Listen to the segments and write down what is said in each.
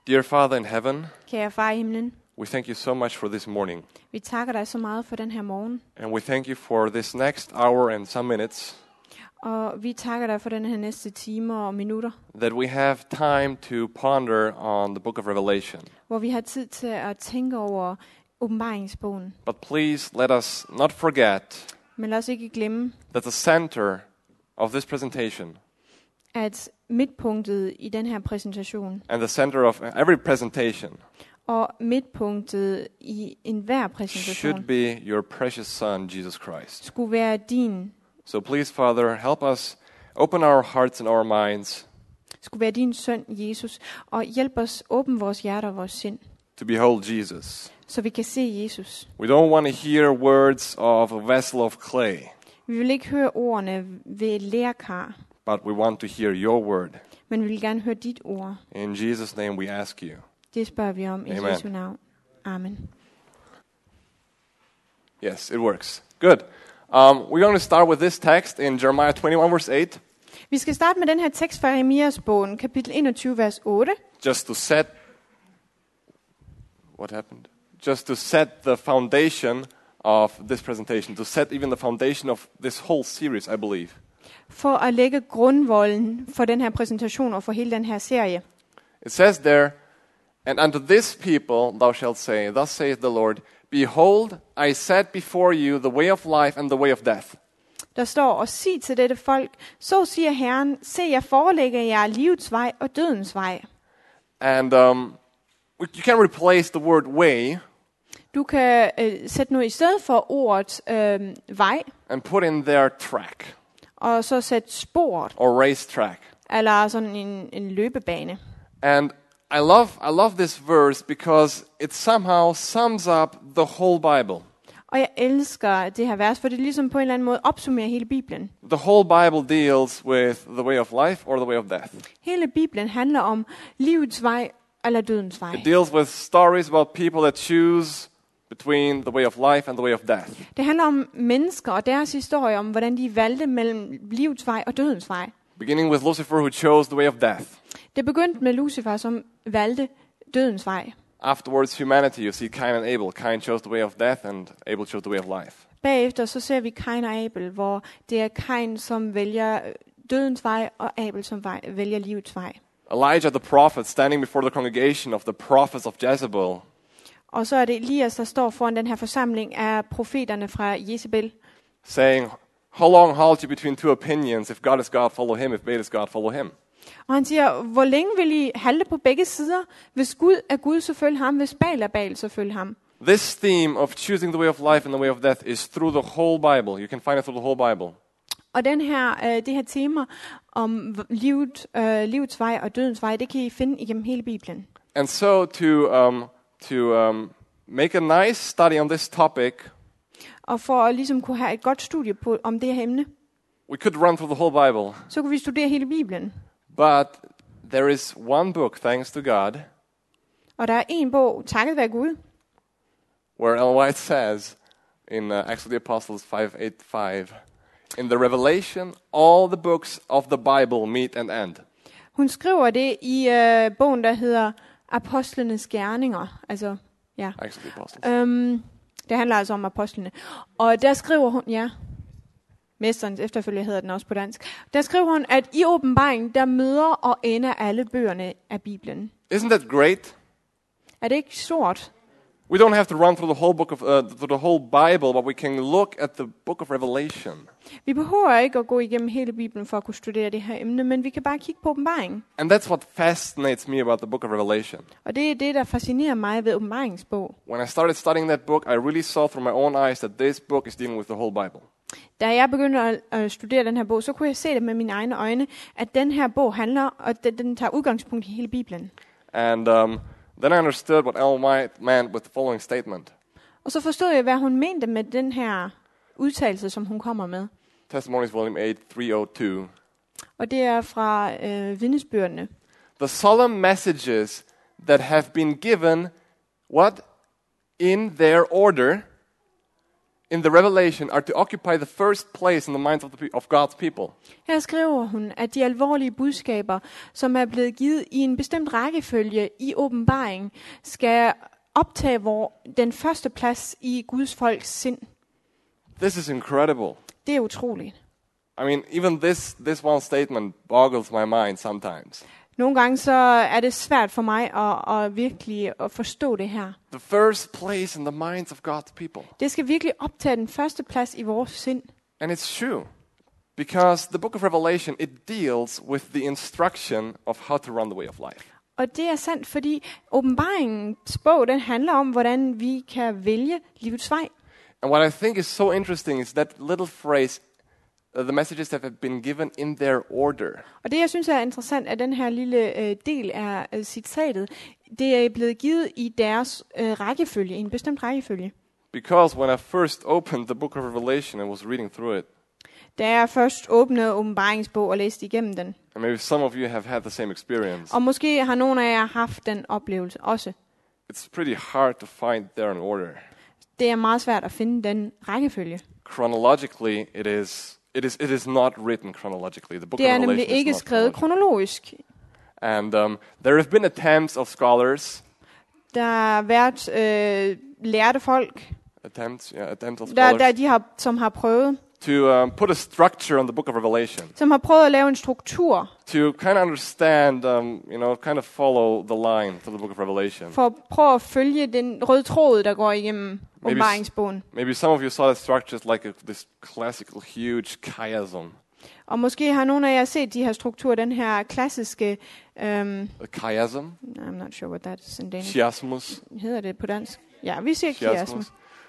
Dear Father in heaven, Kære far i himlen, we thank you so much for this morning. vi takker dig så meget for den her morgen, And we thank you for this next hour and some minutes og vi takker dig for den her næste timer og minutter, that we have time to ponder on the book of Revelation. hvor vi har tid til at tænke over åbenbaringsbogen. But please let us not forget Men lad os ikke glemme, that the center of this presentation at midtpunktet i den her præsentation, and the center of every presentation og midtpunktet i enhver præsentation, should be your precious Son, Jesus Christ. skulle være din, So please, Father, help us open our hearts and our minds skulle være din søn, Jesus, og hjælp os åbne vores hjerter og vores sind, to behold Jesus. så vi kan se Jesus. We don't want to hear words of a vessel of clay, Vi vil ikke høre ordene ved lærkar, but we want to hear your word. men vi vil gerne høre dit ord. In Jesus' name we ask you. Det spørger vi om i Amen. Jesu navn. Amen. Yes, it works. Good. We're going to start with this text in Jeremiah 21, verse 8, Vi skal starte med den her tekst fra Jeremias bogen, kapitel 21, vers 8. just to set... What happened? Just to set the foundation of this presentation, to set even the foundation of this whole series, I believe. For at lægge grundvolden for den her præsentation og for hele den her serie. It says there, "And unto this people thou shalt say, Thus saith the Lord, Behold, I set before you the way of life and the way of death. Der står, og sig til dette folk, så siger Herren, se jeg forelægger jer livets vej og dødens vej. And you can replace the word way Du kan sætte noget i stedet for ordet vej, and put in there track og så sætte sporet, or race track. eller sådan en løbebane. And I love this verse because it somehow sums up the whole Bible. Og jeg elsker det her vers, for det ligesom på en eller anden måde opsummerer hele Bibelen. The whole Bible deals with the way of life or the way of death. Hele Bibelen handler om livets vej eller dødens vej. It deals with stories about people that choose between the way of life and the way of death. Det handler om mennesker og deres historie om, hvordan de valgte mellem livets vej og dødens vej. Beginning with Lucifer, who chose the way of death. Det begyndte med Lucifer, som valgte dødens vej. Afterwards, humanity, you see Cain and Abel. Cain chose the way of death, and Abel chose the way of life. Bagefter så ser vi Kain og Abel, hvor det er Kain, som vælger dødens vej, og Abel, som vælger livets vej. Elijah the prophet, standing before the congregation of the prophets of Jezebel, Og så er det Elias, der står foran den her forsamling af profeterne fra Jezebel, saying, How long halt you between two opinions? If God is God, follow him. If Baal is God, follow him. og han siger, hvor længe vil I halte på begge sider? Hvis Gud er Gud, så følg ham. Hvis Baal er Baal, så følg ham. This theme of choosing the way of life and the way of death is through the whole Bible. You can find it through the whole Bible. Og det her tema om livets vej og dødens vej, det kan I finde igennem hele Bibelen. And so to make a nice study on this topic, Og for at ligesom kunne have et godt studie om det her emne, we could run through the whole Bible. så kunne vi studere hele Bibelen. But there is one book, thanks to God, Og der er en bog, takket være Gud, where Ellen White says in Acts of the Apostles 5:8-5, in the Revelation, all the books of the Bible meet and end. hun skriver det i bogen, der hedder Apostlenes Gerninger. Altså, ja. Acts of the Apostles. Det handler altså om apostlene. Og der skriver hun, ja, Mesterens efterfølger hedder den også på dansk. Der skriver hun, at i åbenbaringen, der møder og ender alle bøgerne af Bibelen. Isn't that great? Er det ikke stort? We don't have to run through the whole book of through the whole Bible, but we can look at the book of Revelation. Vi behøver ikke at gå igennem hele Bibelen for at kunne studere det her emne, men vi kan bare kigge på åbenbaringen. And that's what fascinates me about the book of Revelation. Og det er det, der fascinerer mig ved åbenbaringsbog. When I started studying that book, I really saw through my own eyes that this book is dealing with the whole Bible. Da jeg begyndte at studere den her bog, så kunne jeg se det med mine egne øjne, at den her bog handler, og den tager udgangspunkt i hele Bibelen. And then I understood what Ellen White meant with the following statement. Og så forstod jeg, hvad hun mente med den her udtalelse, som hun kommer med. Testimonies, volume 8, 302. Og det er fra vidnesbyrdene. The solemn messages that have been given, what? In their order, in the revelation are to occupy the first place in the minds of God's people. Her skriver hun, at de alvorlige budskaber, som er blevet givet i en bestemt rækkefølge i åbenbaringen, skal optage den første plads i Guds folks sind. This is incredible. Det er utroligt. I mean, even this one statement boggles my mind sometimes. Nogle gange så er det svært for mig at virkelig at forstå det her. The first place in the minds of God's people. Det skal virkelig optage den første plads i vores sind. And it's true. Because the book of Revelation, it deals with the instruction of how to run the way of life. Og det er sandt, fordi åbenbaringens bog, den handler om, hvordan vi kan vælge livets vej. And what I think is so interesting is that little phrase, the messages that have been given in their order. Og det, jeg synes er interessant, er den her lille del af citatet. Det er blevet givet i deres rækkefølge, i en bestemt rækkefølge. Because when I first opened the book of Revelation and was reading through it, Da jeg først åbnede åbenbaringsbog og læste igennem den. and maybe some of you have had the same experience, Og måske har nogle af jer haft den oplevelse også. it's pretty hard to find there an order. Det er meget svært at finde den rækkefølge. Chronologically, it is not written chronologically. The book Det of er nemlig Revelation is ikke not skrevet chronological. kronologisk. And there have been attempts of scholars, Der har været lærte folk, attempts of scholars, som har prøvet, to put a structure on the book of Revelation, som har prøvet at lave en struktur to kind of understand, kind of follow the line to the book of Revelation. for at prøve at følge den røde tråd, der går igennem åbenbaringsbogen. Maybe some of you saw that structure as like this classical huge chiasm. Og måske har nogle af jer set de her strukturer, den her klassiske, A chiasm? I'm not sure what that is in Danish. Chiasmus? Hedder det på dansk? Ja, vi siger chiasmus.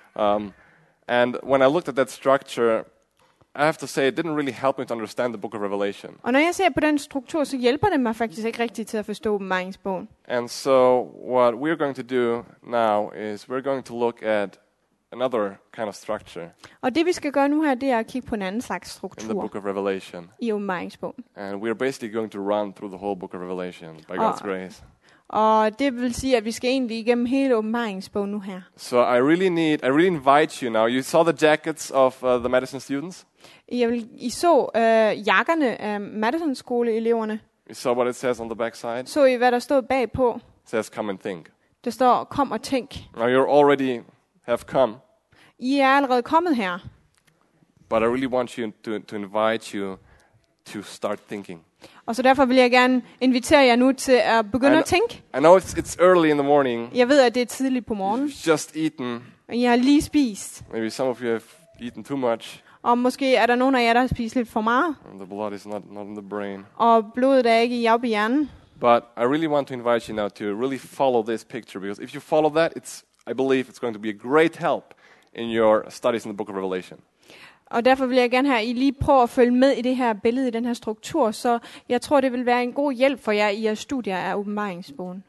And when I looked at that structure, I have to say it didn't really help me to understand the book of Revelation. Og når jeg ser på den struktur, så hjælper det mig faktisk ikke rigtigt til at forstå åbenbaringsbogen. And so what we're going to do now is we're going to look at another kind of structure Og det vi skal gøre nu her, det er at kigge på en anden slags in the struktur book of Revelation. i åbenbaringsbogen. And we're basically going to run through the whole book of Revelation by God's grace. Og det vil sige, at vi skal egentlig igennem hele åbenbaringsbogen nu her. So I really invite you now. You saw the jackets of the Madison students. I så jakkerne af Madison-skoleeleverne. You saw what it says on the back side. Så I, hvad der stod bagpå? It says, "Come and think." Der står, kom og tænk. Now you already have come, I er allerede kommet her. but I really want you to invite you to start thinking. Og så derfor vil jeg gerne invitere jer nu til at begynde at tænke. I know it's early in the morning. Jeg ved, at det er tidligt på morgenen. You've just eaten. Og I har lige spist. Maybe some of you have eaten too much. Og måske er der nogen af jer, der har spist lidt for meget. And the blood is not in the brain. Og blodet er ikke oppe i hjernen. But I really want to invite you now to really follow this picture, because if you follow that, I believe it's going to be a great help in your studies in the book of Revelation. Og derfor vil jeg gerne have, at I lige prøver at følge med i det her billede, i den her struktur, så jeg tror, det vil være en god hjælp for jer i jeres studier af åbenbaringsbogen.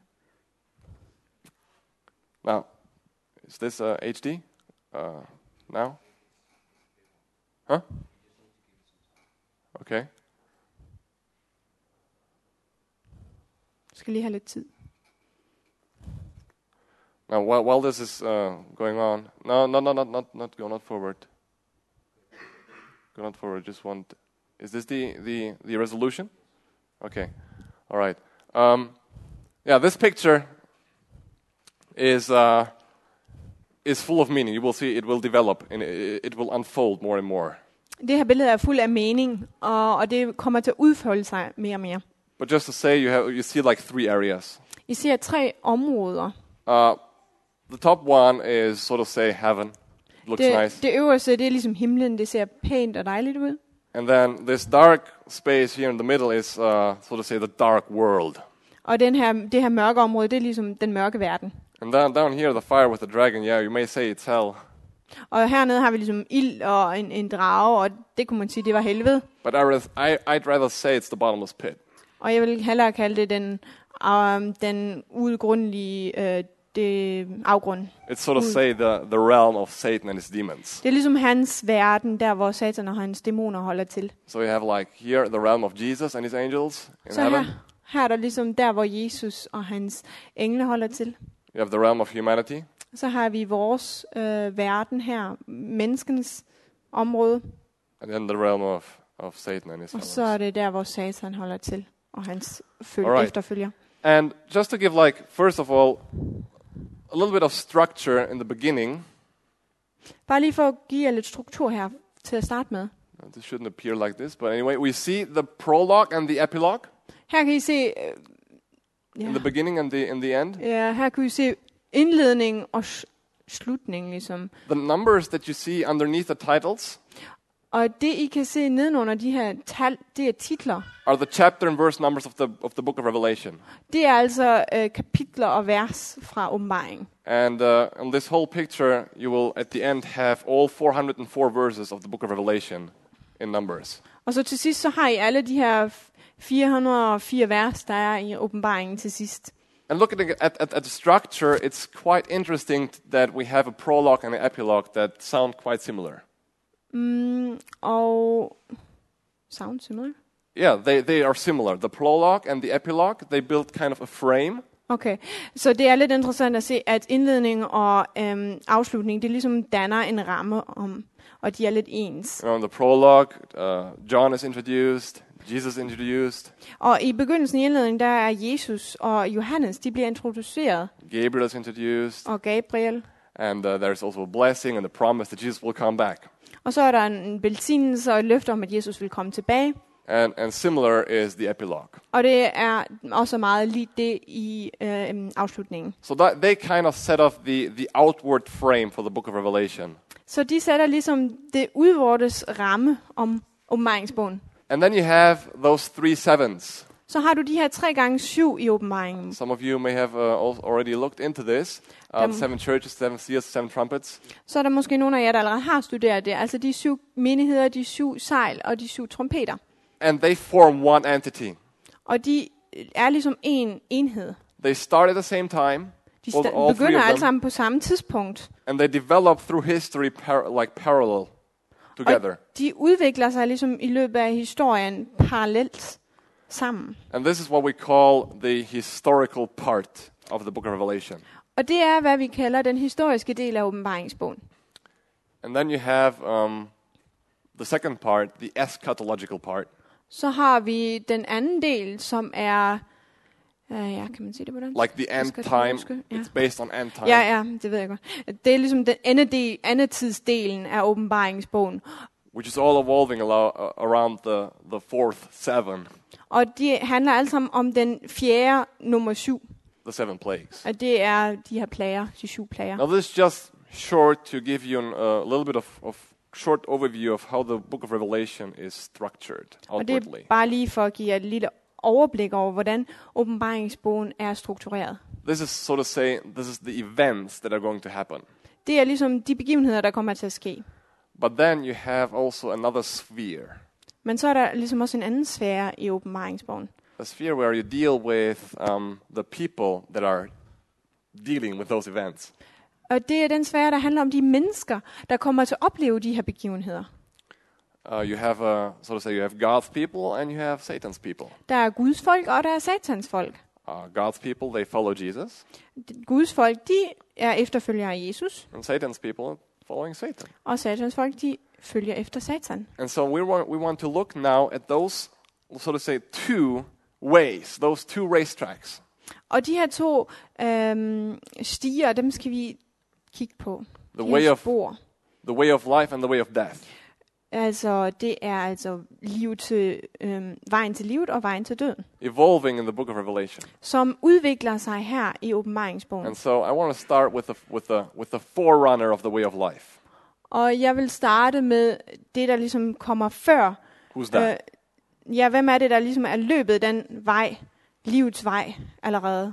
Now, is this HD? Now? Huh? Okay. Jeg skal lige have lidt tid. Now, while this is going on, not forward. Go not forward. Just want. Is this the resolution? Okay. All right. Yeah, this picture is full of meaning. You will see it will develop and it will unfold more and more. Det her billede er fuld af mening, og det kommer til at udfolde sig mere og mere. But just to say, you see like 3 areas. I ser 3 områder. The top one is sort of say heaven. Looks nice. Det øverste, det er ligesom himlen. Det ser pænt og dejligt ud. And then this dark space here in the middle is sort of say the dark world. Og det her mørke område, det er ligesom den mørke verden. And down here, the fire with the dragon. Yeah, you may say it's hell. Og hernede har vi ligesom ild og en drage, og det kunne man sige, det var helvede. But I'd rather say it's the bottomless pit. Og jeg vil hellere kalde det den udgrundelige det afgrund. It's sort of say the realm of Satan and his demons. Det er ligesom hans verden, der hvor Satan og hans dæmoner holder til. So you have like here the realm of Jesus and his angels in Så heaven. her er der ligesom der, hvor Jesus og hans engle holder til. You have the realm of humanity. Så har vi vores verden her, menneskens område, and then the realm of Satan and his og så followers. er det der, hvor Satan holder til, og hans Alright. efterfølger. And just to give, like, first of all, a little bit of structure in the beginning. Bare lige for at give jer lidt struktur her til at starte med. This shouldn't appear like this, but anyway, we see the prologue and the epilogue Her kan I se, in the beginning and in the end. ja, her kan I se indledningen og slutningen ligesom. The numbers that you see underneath the titles Og det I kan se nedenunder de her tal, det er titler. are the chapter and verse numbers of the book of Revelation. Det er altså kapitler og vers fra åbenbaringen. And on this whole picture, you will at the end have all 404 verses of the book of Revelation in numbers. Og så til sidst så har I alle de her 404 vers, der er i åbenbaringen til sidst. And looking at the structure, it's quite interesting that we have a prologue and an epilogue that sound quite similar. Og sound similar? Yeah, they are similar. The prologue and the epilogue, they build kind of a frame. Okay, så det er lidt interessant at se, at indledning og afslutning, det ligesom danner en ramme om, og de er lidt ens. You know, in the prologue, John is introduced, Jesus introduced, Og i begyndelsen i indledningen, der er Jesus og Johannes, de bliver introduceret, Gabriel is introduced, og Gabriel. and there's also a blessing and the promise that Jesus will come back. Og så er der en velsignelse og et løfte om, at Jesus vil komme tilbage. And similar is the epilogue. Og det er også meget lige det i afslutningen. So that they kind of set up the outward frame for the book of Revelation. Så de sætter ligesom det udvortes ramme om åbenbaringsbogen. And then you have those 3 sevens. Så har du de her 3x7 i åbenbaringen. Some of you may have already looked into this. 7 churches, 7 seals, 7 trumpets. Så er der måske nogle af jer, der allerede har studeret det. Altså de 7 menigheder, de 7 sejl og de 7 trompeter. And they form one entity. Og de er ligesom en enhed. They start at the same time. De all three begynder of alle them, sammen på samme tidspunkt. and they develop through history parallel together. Og de udvikler sig ligesom i løbet af historien parallelt sammen. And this is what we call the historical part of the book of Revelation. Og det er, hvad vi kalder den historiske del af åbenbaringsbogen. And then you have the second part, the eschatological part. Så har vi den anden del, som er, ja, kan man sige det på den? Like the end time, Ja. it's based on end time. Ja, det ved jeg godt. Det er ligesom den endetidsdelen af åbenbaringsbogen. Which is all evolving around the fourth seven, Og de handler alle sammen om den fjerde, nummer 7. the 7 plagues. Og det er de her plager, de 7 plager. Now this is just short to give you a little bit of short overview of how the book of Revelation is structured Og det outwardly. er bare lige for at give jer et lille overblik over, hvordan åbenbaringsbogen er struktureret. This is, so to say, this is the events that are going to happen. Det er ligesom de begivenheder, der kommer til at ske. But then you have also another sphere. Men så er der ligesom også en anden sfære i åbenbaringsbogen. A sphere where you deal with the people that are dealing with those events. Og det er den sfære, der handler om de mennesker, der kommer til at opleve de her begivenheder. You have, so to say, you have God's people and you have Satan's people. Der er Guds folk, og der er Satans folk. God's people, they follow Jesus, Guds folk, de er efterfølgere af Jesus, and Satan's people are following Satan. og Satans folk, de følger efter Satan. And so we want to look now at those, so to say, 2 ways, those 2 racetracks. Og de her 2 stiger, dem skal vi kigge på. The De way her of spor. the way of life and the way of death. Altså, det er altså liv til, vejen til livet og vejen til døden, Evolving in the book of Revelation. som udvikler sig her i åbenbaringsbogen. And so I want to start with the forerunner of the way of life. Og jeg vil starte med det, der ligesom kommer før. Who's that? Ja, hvem er det, der ligesom er løbet den vej, livets vej allerede?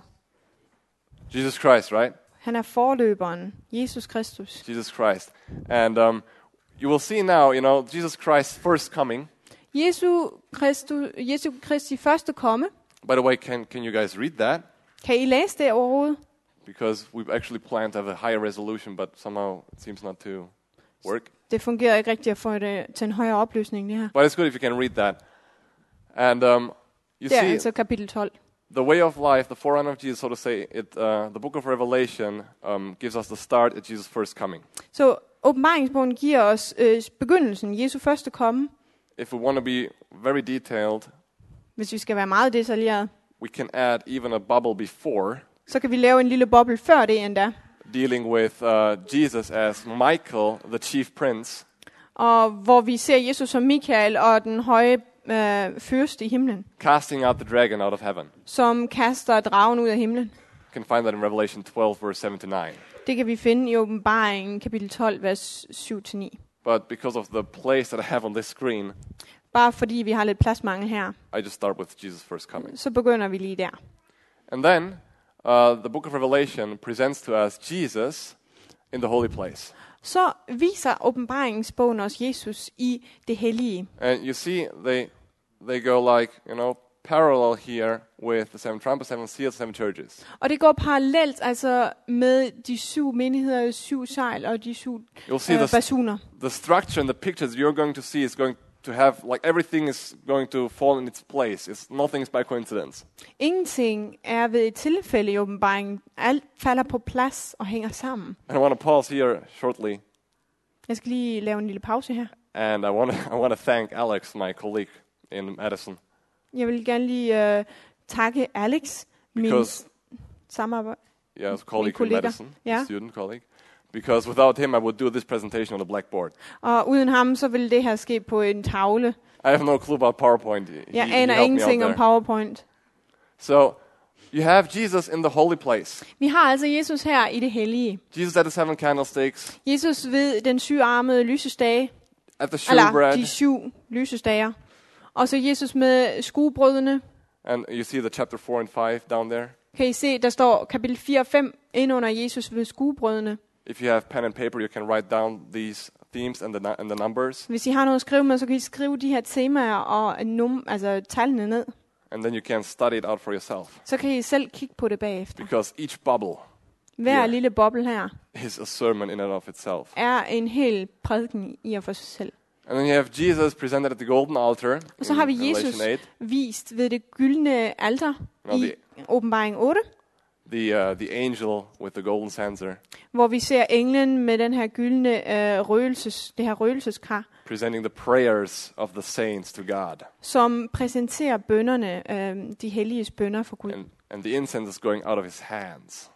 Jesus Christ, right? Han er forløberen, Jesus Kristus. Jesus Christ. And you will see now, Jesus Christ's first coming. Jesu Kristi første komme. By the way, can you guys read that? Kan I læse det overhovedet? Because we've actually planned to have a higher resolution, but somehow it seems not to work. Det fungerer ikke rigtigt at få det til en højere opløsning, det her. But it's good if you can read that. And you Det er see, altså kapitel 12. the way of life, the forerunner of Jesus, so to say, the book of Revelation gives us the start at Jesus' first coming. Så åbenbaringsbogen giver os begyndelsen, Jesu første komme. If we want to be very detailed, Hvis vi skal være meget detaljeret, we can add even a bubble before, så kan vi lave en lille boble før det endda. dealing with Jesus as Michael, the chief prince, Og hvor vi ser Jesus som Mikael og den høje fyrste i himlen, casting out the dragon out of heaven. som kaster dragen ud af himlen. You can find that in Revelation 12, verse 7-9. Det kan vi finde i åbenbaringen kapitel 12, vers 7-9. But because of the place that I have on this screen, Bare fordi vi har lidt pladsmangel her, I just start with Jesus' first coming. så begynder vi lige der. And then, the book of Revelation presents to us Jesus in the holy place. Så viser åbenbaringsbogen os Jesus i det hellige. And you see, they go like, parallel here with the seven trumpets, seven seals, seven churches. Og det går parallelt altså med de 7 menigheder, 7 sejl og de 7 You'll see basuner. the structure and the pictures you're going to see is going to have, like everything is going to fall in its place. Nothing is by coincidence. Ingenting er ved et tilfælde i åbenbaringen. Alt falder på plads og hænger sammen. And I want to pause here shortly, Jeg skal lige lave en lille pause her. and I want to thank Alex, my colleague in Madison, Jeg vil gerne lige takke Alex, min because samarbejde. yeah, as a colleague in kollega. Madison, Yeah. student colleague, because without him I would do this presentation on a blackboard. Og uden ham, så ville det her ske på en tavle. I have no clue about PowerPoint. Jeg he aner helped me out ingenting om there. PowerPoint. So you have Jesus in the holy place. Vi har altså Jesus her i det hellige. Jesus at the seven candlesticks, Jesus ved den 7-armede lysestage, at the eller shewbread, de 7 lysestager. Og så Jesus med skuebrødene. and you see the chapter 4 and 5 down there. Kan I se, der står kapitel 4 og 5 ind under Jesus ved skuebrødene. If you have pen and paper, you can write down these themes and the numbers, Hvis I har noget at skrive med, så kan I skrive de her temaer og altså tallene ned. and then you can study it out for yourself. Så kan I selv kigge på det bagefter. Because each bubble Hver Yeah. lille boble her is a sermon in and of itself. er en hel prædiken i og for sig selv. And then you have Jesus presented at the golden altar Og så in har vi Revelation Jesus 8. vist ved det gyldne alter Nå, i åbenbaring 8, The angel with the golden censer hvor vi ser englen med den her gyldne det her røgelseskar, presenting the prayers of the saints to God. som præsenterer bønnerne, de helliges bønner for Gud. And the incense is going out of his hands.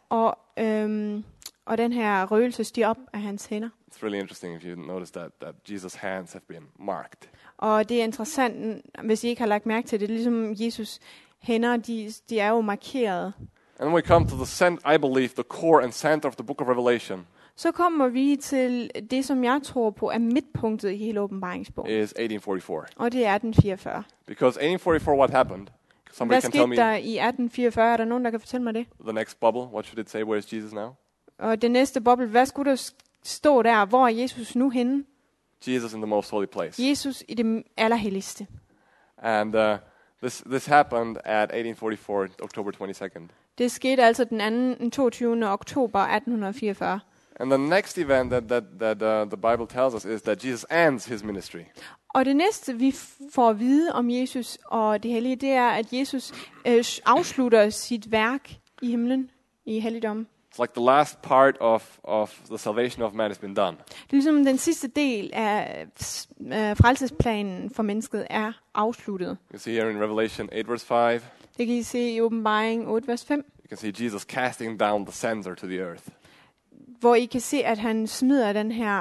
Og den her røgelse stiger op af hans hænder. It's really interesting if you notice that Jesus' hands have been marked. Og det er interessant, hvis I ikke har lagt mærke til det, ligesom Jesus hænder, de er jo markeret. And when we come to I believe, the core and center of the book of Revelation Så kommer vi til det, som jeg tror på er midtpunktet i hele åbenbaringsbogen. is 1844. Og det er 1844. Because 1844, what happened? Somebody Hvad can tell skete me der i 1844? Er der nogen, der kan fortælle mig det? the next bubble. What should it say? Where is Jesus now? Og det næste boble, hvad skulle der stå der? Hvor er Jesus nu henne? Jesus in the most holy place. Jesus i det allerhelligste. And this happened at 1844, October 22nd. Det skete altså den 22. oktober 1844. And the next event that the Bible tells us is that Jesus ends his ministry. Og det næste, vi får at vide om Jesus og det hellige, det er, at Jesus afslutter sit værk i himlen, i helligdommen. It's like the last part of the salvation of man has been done. Det er ligesom den sidste del af frelsesplanen for mennesket er afsluttet. You see here in Revelation 8 verse 5, Det kan I se i åbenbaring 8, vers 5, you can see Jesus casting down the censer to the earth. hvor I kan se, at han smider den her,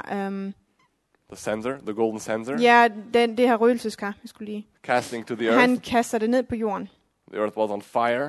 The censer, the golden censer, det her røgelseskar, jeg skulle lige. casting to the earth. Han kaster det ned på jorden. The earth was on fire,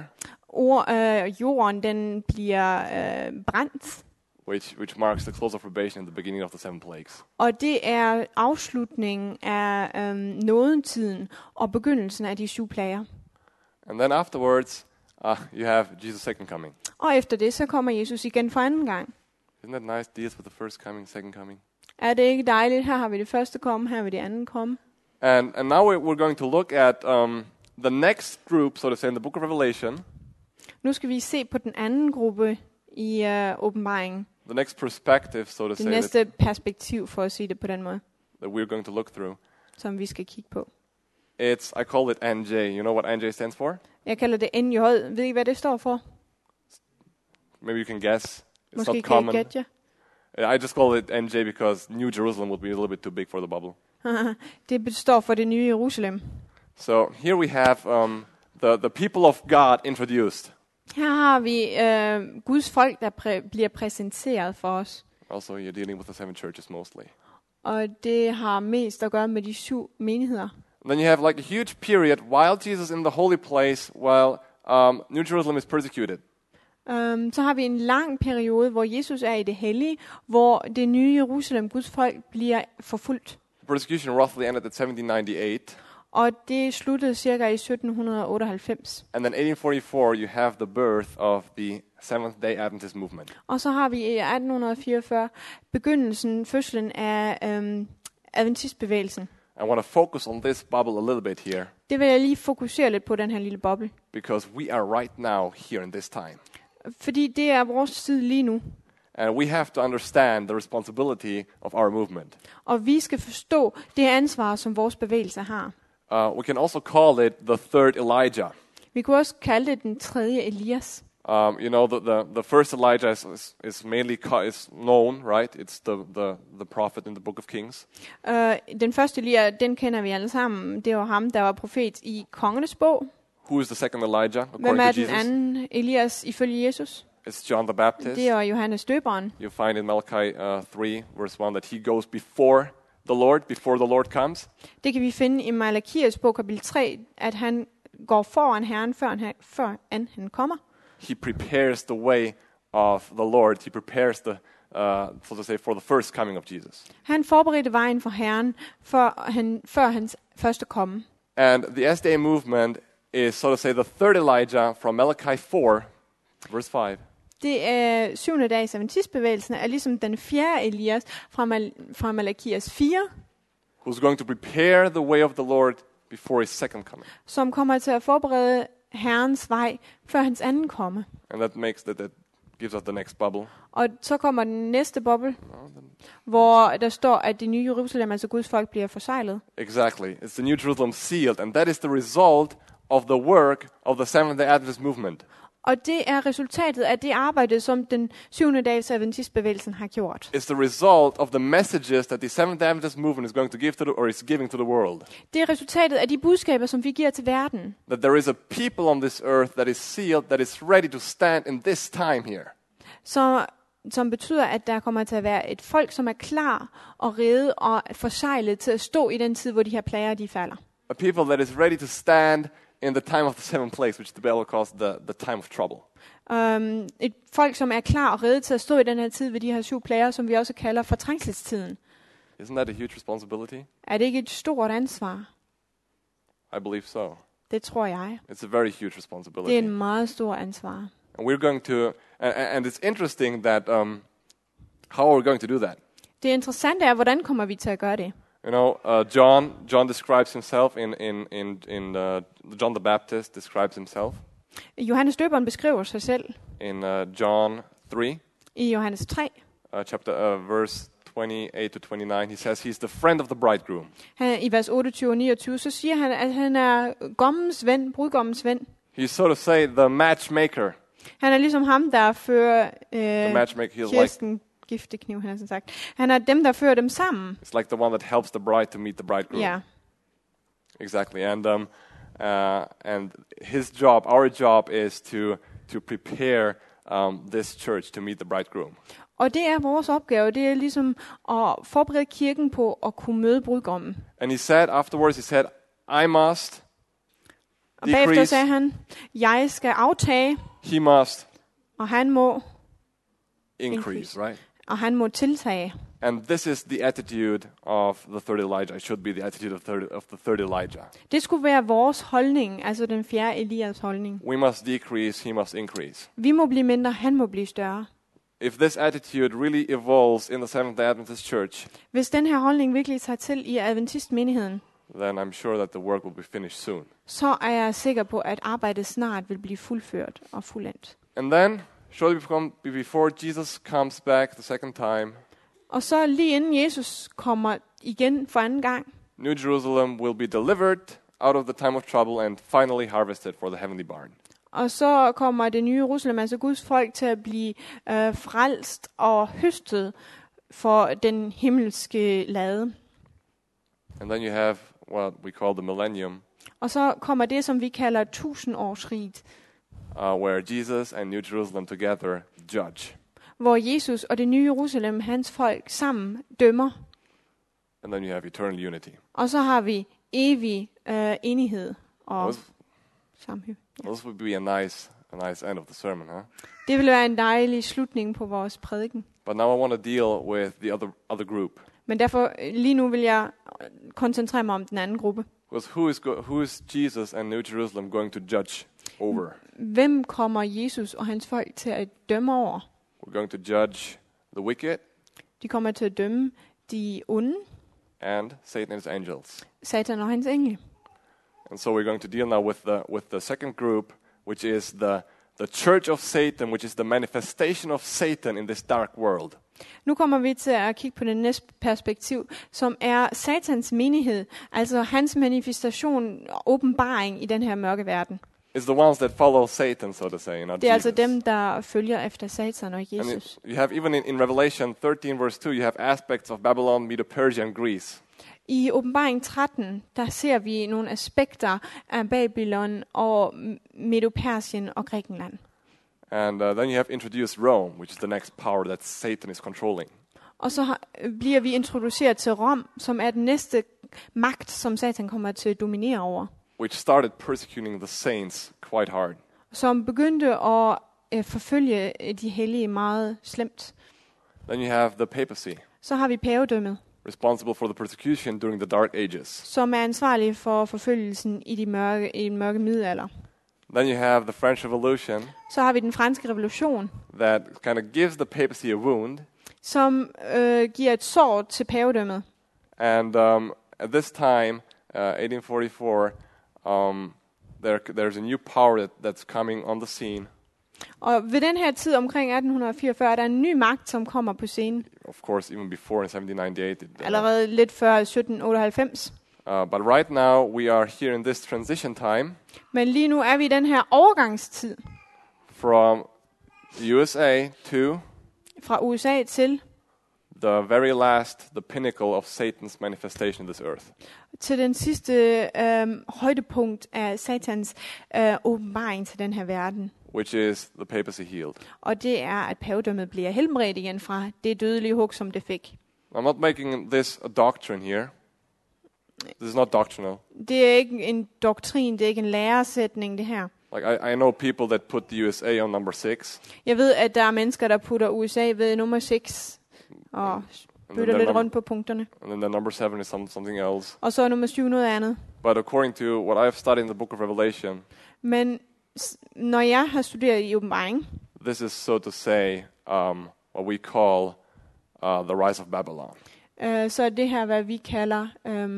Jorden, den bliver brændt. which marks the close of probation and the beginning of the 7 plagues. Og det er afslutningen af nådetiden og begyndelsen af de 7 plager. And then afterwards, you have Jesus' second coming. Og efter det, så kommer Jesus igen for anden gang. Isn't that nice? Deals with the first coming, second coming. Er det ikke dejligt? Her har vi det første komme, her har vi det andet komme. And now we're going to look at the next group, so to say, in the book of Revelation. Nu skal vi se på den anden gruppe i åbenbaringen. The next perspective, so to Det say, næste perspektiv, for at sige det på den måde, that we're going to look through. som vi skal kigge på. I call it NJ. You know what NJ stands for? Jeg kalder det NJ. Ved I, hvad det står for? Maybe you can guess. It's Måske not kan I common. gætte I just call it NJ because New Jerusalem would be a little bit too big for the bubble. jer. Det står for det nye Jerusalem. So here we have the people of God introduced. Her har vi Guds folk, der bliver præsenteret for os. Also, you're dealing with the 7 churches mostly. Og det har mest at gøre med de 7 menigheder. Then you have like a huge period while Jesus in the holy place, while New Jerusalem is persecuted. Så har vi en lang periode, hvor Jesus er i det hellige, hvor det nye Jerusalem, Guds folk, bliver forfulgt. The persecution roughly ended at 1798. Og det sluttede cirka i 1798. And then 1844, you have the birth of the Seventh-day Adventist movement. Og så har vi i 1844 fødslen af adventistbevægelsen. I want to focus on this bubble a little bit here Det vil jeg lige fokusere lidt på, den her lille boble. because we are right now here in this time. Fordi det er vores tid lige nu. And we have to understand the responsibility of our movement. Og vi skal forstå det ansvar, som vores bevægelse har. We can also call it the third Elijah. Vi kunne også kalde det den tredje Elias. You know, the first Elijah is mainly is known, right? It's the prophet in the book of Kings. Den første Elia, den kender vi alle sammen. Det var ham, der var profet i Kongernes bog. Who is the second Elijah, Hvem according er to den Jesus? anden Elias ifølge Jesus? It's John the Baptist. Det er Johannes Døberen. You find in Malachi 3, verse 1, that he goes before the Lord comes. Det kan vi finde i Malakias bog kapitel 3, at han går foran Herren, før han kommer. He prepares the way of the Lord. He prepares so to say, for the first coming of Jesus. Han forberedte vejen for Herren, før hans første komme. And the SDA movement is, so to say, the third Elijah from Malachi 4, verse 5. Det er 7. dags adventistbevægelsen er ligesom den fjerde Elias fra Malakias 4, Who's going to prepare the way of the Lord before his second coming. som kommer til at forberede Herrens vej før hans anden komme. And that gives us the next bubble. Og så kommer den næste boble, hvor der står, at det nye Jerusalem, altså Guds folk, bliver forseglet. Exactly. It's the New Jerusalem sealed, and that is the result of the work of the Seventh-day Adventist movement. Og det er resultatet af det arbejde, som den 7. dags adventistbevægelsen har gjort. It's the result of the messages that the Seventh-day Adventist movement is going to give or is giving to the world. Det er resultatet af de budskaber, som vi giver til verden. That there is a people on this earth that is sealed, that is ready to stand in this time here. Som betyder, at der kommer til at være et folk, som er klar og rede og forseglet til at stå i den tid, hvor de her plager, de falder. A people that is ready to stand in the time of the seventh plagues, which the Bible calls the time of trouble. Et folk, som er klar og rede til at stå i den her tid ved de her 7 plager, som vi også kalder fortrængselstiden. Isn't that a huge responsibility? Er det ikke et stort ansvar? I believe so. Det tror jeg. It's a very huge Det er responsibility. en meget stor ansvar. And we're going to, and it's interesting that, how are we going to do that? Det interessante er, hvordan kommer vi til at gøre det? You know, John describes himself John the Baptist describes himself Johannes Døberen beskriver sig selv in John 3, i Johannes 3. verse 28 to 29. He says he's the friend of the bridegroom. I vers 28 og 29, så siger han, at han er brudgommens ven. He's, so to say, the matchmaker. Han er ligesom ham, der fører The matchmaker, Kirsten giftekniv, han har sådan sagt. Han er dem, der fører dem sammen. It's like the one that helps the bride to meet the bridegroom. Ja. Exactly. And his job, our job, is to prepare this church to meet the bridegroom. Og det er vores opgave, det er ligesom at forberede kirken på at kunne møde brudgommen. And he said afterwards, I must Og bagefter decrease, sagde han, jeg skal aftage, he must og han må increase, right? og han må tiltage. And this is the attitude of the third Elijah. It should be the attitude of the third Elijah. Det skulle være vores holdning, altså den fjerde Elias holdning. We must decrease, he must increase. Vi må blive mindre, han må blive større. If this attitude really evolves in the Seventh-day Adventist Church, Hvis den her holdning virkelig tager til i adventistmenigheden, then I'm sure that the work will be finished soon. så er jeg sikker på, at arbejdet snart vil blive fuldført og fuldendt. And then, shortly before Jesus comes back the second time, Og så lige inden Jesus kommer igen for anden gang, New Jerusalem will be delivered out of the time of trouble and finally harvested for the heavenly barn. Og så kommer det nye Jerusalem, altså Guds folk, til at blive frelst og høstet for den himmelske lade. And then you have what we call the millennium, Og så kommer det, som vi kalder 1000-årsriget, where Jesus and New Jerusalem together judge. hvor Jesus og det nye Jerusalem, hans folk, sammen dømmer. And then you have eternal unity. Og så har vi evig enighed og sammenhæng. This would be a nice end of the sermon, huh? Det vil være en dejlig slutning på vores prædiken. But now I want to deal with the other group. Men derfor lige nu vil jeg koncentrere mig om den anden gruppe. Because who is Jesus and New Jerusalem going to judge over? Hvem kommer Jesus og hans folk til at dømme over? We're going to judge the wicked De kommer til at dømme de onde, and Satan and his angels. Satan og hans engle. And so we're going to deal now with the second group, which is the church of Satan, which is the manifestation of Satan in this dark world. Nu kommer vi til at kigge på det næste perspektiv, som er Satans menighed, altså hans manifestation og åbenbaring i den her mørke verden. It's the ones that follow Satan, so to say, not Det er altså Jesus. dem, der følger efter Satan og Jesus. You have even in Revelation 13 verse 2, you have aspects of Babylon, Medo-Persia and Greece. I åbenbaring 13, der ser vi nogle aspekter af Babylon og Medo-Persien og Grækenland. And then you have introduced Rome, which is the next power that Satan is controlling. Og så bliver vi introduceret til Rom, som er den næste magt, som Satan kommer til at dominere over. Which started persecuting the saints quite hard. Som begyndte at forfølge de hellige meget slemt. Then you have the papacy, Så har vi pavedømmet, responsible for the persecution during the Dark Ages. som er ansvarlig for forfølgelsen i den mørke middelalder. Then you have the French Revolution Så har vi den franske revolution, that kind of gives the papacy a wound. som giver et sår til pavedømmet. And at this time, 1844, there's a new power that's coming on the scene. Og ved den her tid omkring 1844 er der en ny magt, som kommer på scenen. Of course, even before in 1798. Allerede lidt før 1798. But right now, we are here in this transition time Men lige nu er vi i den her overgangstid from USA to fra USA til the pinnacle of Satan's manifestation in this earth. til den sidste højdepunkt af Satans åbenbaring til den her verden. Which is the papacy healed. Og det er, at pavedømmet bliver helbredt igen fra det dødelige hug, som det fik. I'm not making this a doctrine here. This is not doctrinal. Det er ikke en doktrin, det er ikke en læresætning, det her. Like I know people that put the USA on number 6. Jeg ved, at der er mennesker, der putter USA ved nummer 6 og bytter lidt rundt på punkterne. And then the number 7 is something else. Og så er nummer 7 noget andet. But according to what I've studied in the book of Revelation, Men når jeg har studeret i åbenbaring, this is so to say what we call the rise of Babylon. så er det her, hvad vi kalder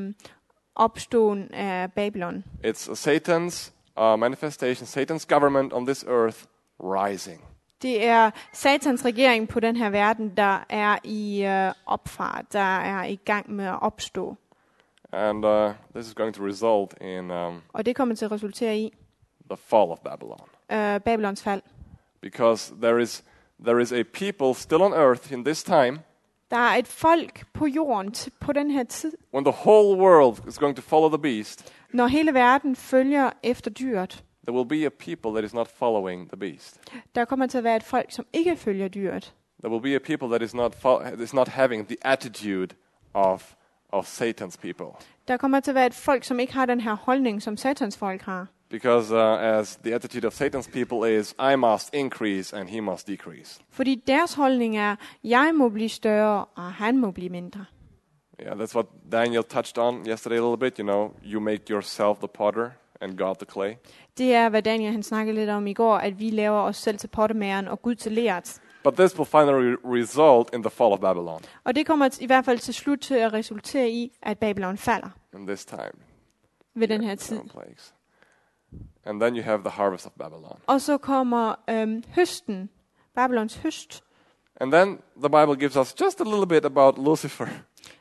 opståen af Babylon. It's Satan's manifestation, Satan's government on this earth rising. Det er Satans regering på den her verden, der er i opfart, der er i gang med at opstå. And this is going to result in Og det kommer til at resultere i the fall of Babylon. Babylons fald. Because there is a people still on earth in this time. Der er et folk på jorden på den her tid, When the whole world is going to follow the beast, når hele verden følger efter dyret. there will be a people that is not following the beast. Der kommer til at være et folk, som ikke følger dyret. There will be a people that is not having the attitude of Satan's people. Der kommer til at være et folk, som ikke har den her holdning, som Satans folk har. Because as the attitude of Satan's people is, I must increase and he must decrease. Fordi deres holdning er, jeg må blive større, og han må blive mindre. Yeah, that's what Daniel touched on yesterday a little bit. You know, you make yourself the potter and God the clay. Det er, hvad Daniel han snakkede lidt om i går, at vi laver os selv til pottemageren og Gud til leret. But this will finally result in the fall of Babylon. Og det kommer i hvert fald til slut til at resultere i, at Babylon falder In this time. ved den her tid. Plagues. And then you have the harvest of Babylon. Og så kommer høsten, Babylons høst. And then the Bible gives us just a little bit about Lucifer.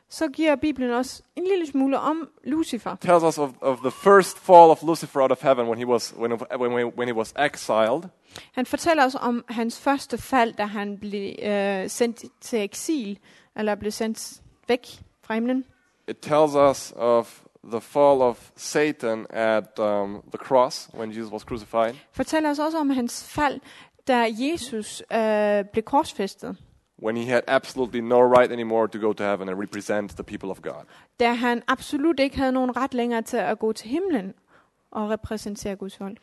så giver Bibelen os en lille smule om Lucifer. Tells us of the first fall of Lucifer out of heaven when he was exiled. Han fortæller os om hans første fald, da han blev sendt til eksil, eller blev sendt væk fra himlen. It tells us of the fall of Satan at the cross when Jesus was crucified. Fortæller os også om hans fald, da Jesus blev korsfæstet. When he had absolutely no right anymore to go to heaven and represent the people of God. Da han absolut ikke havde nogen ret længere til at gå til himlen og repræsentere Guds folk.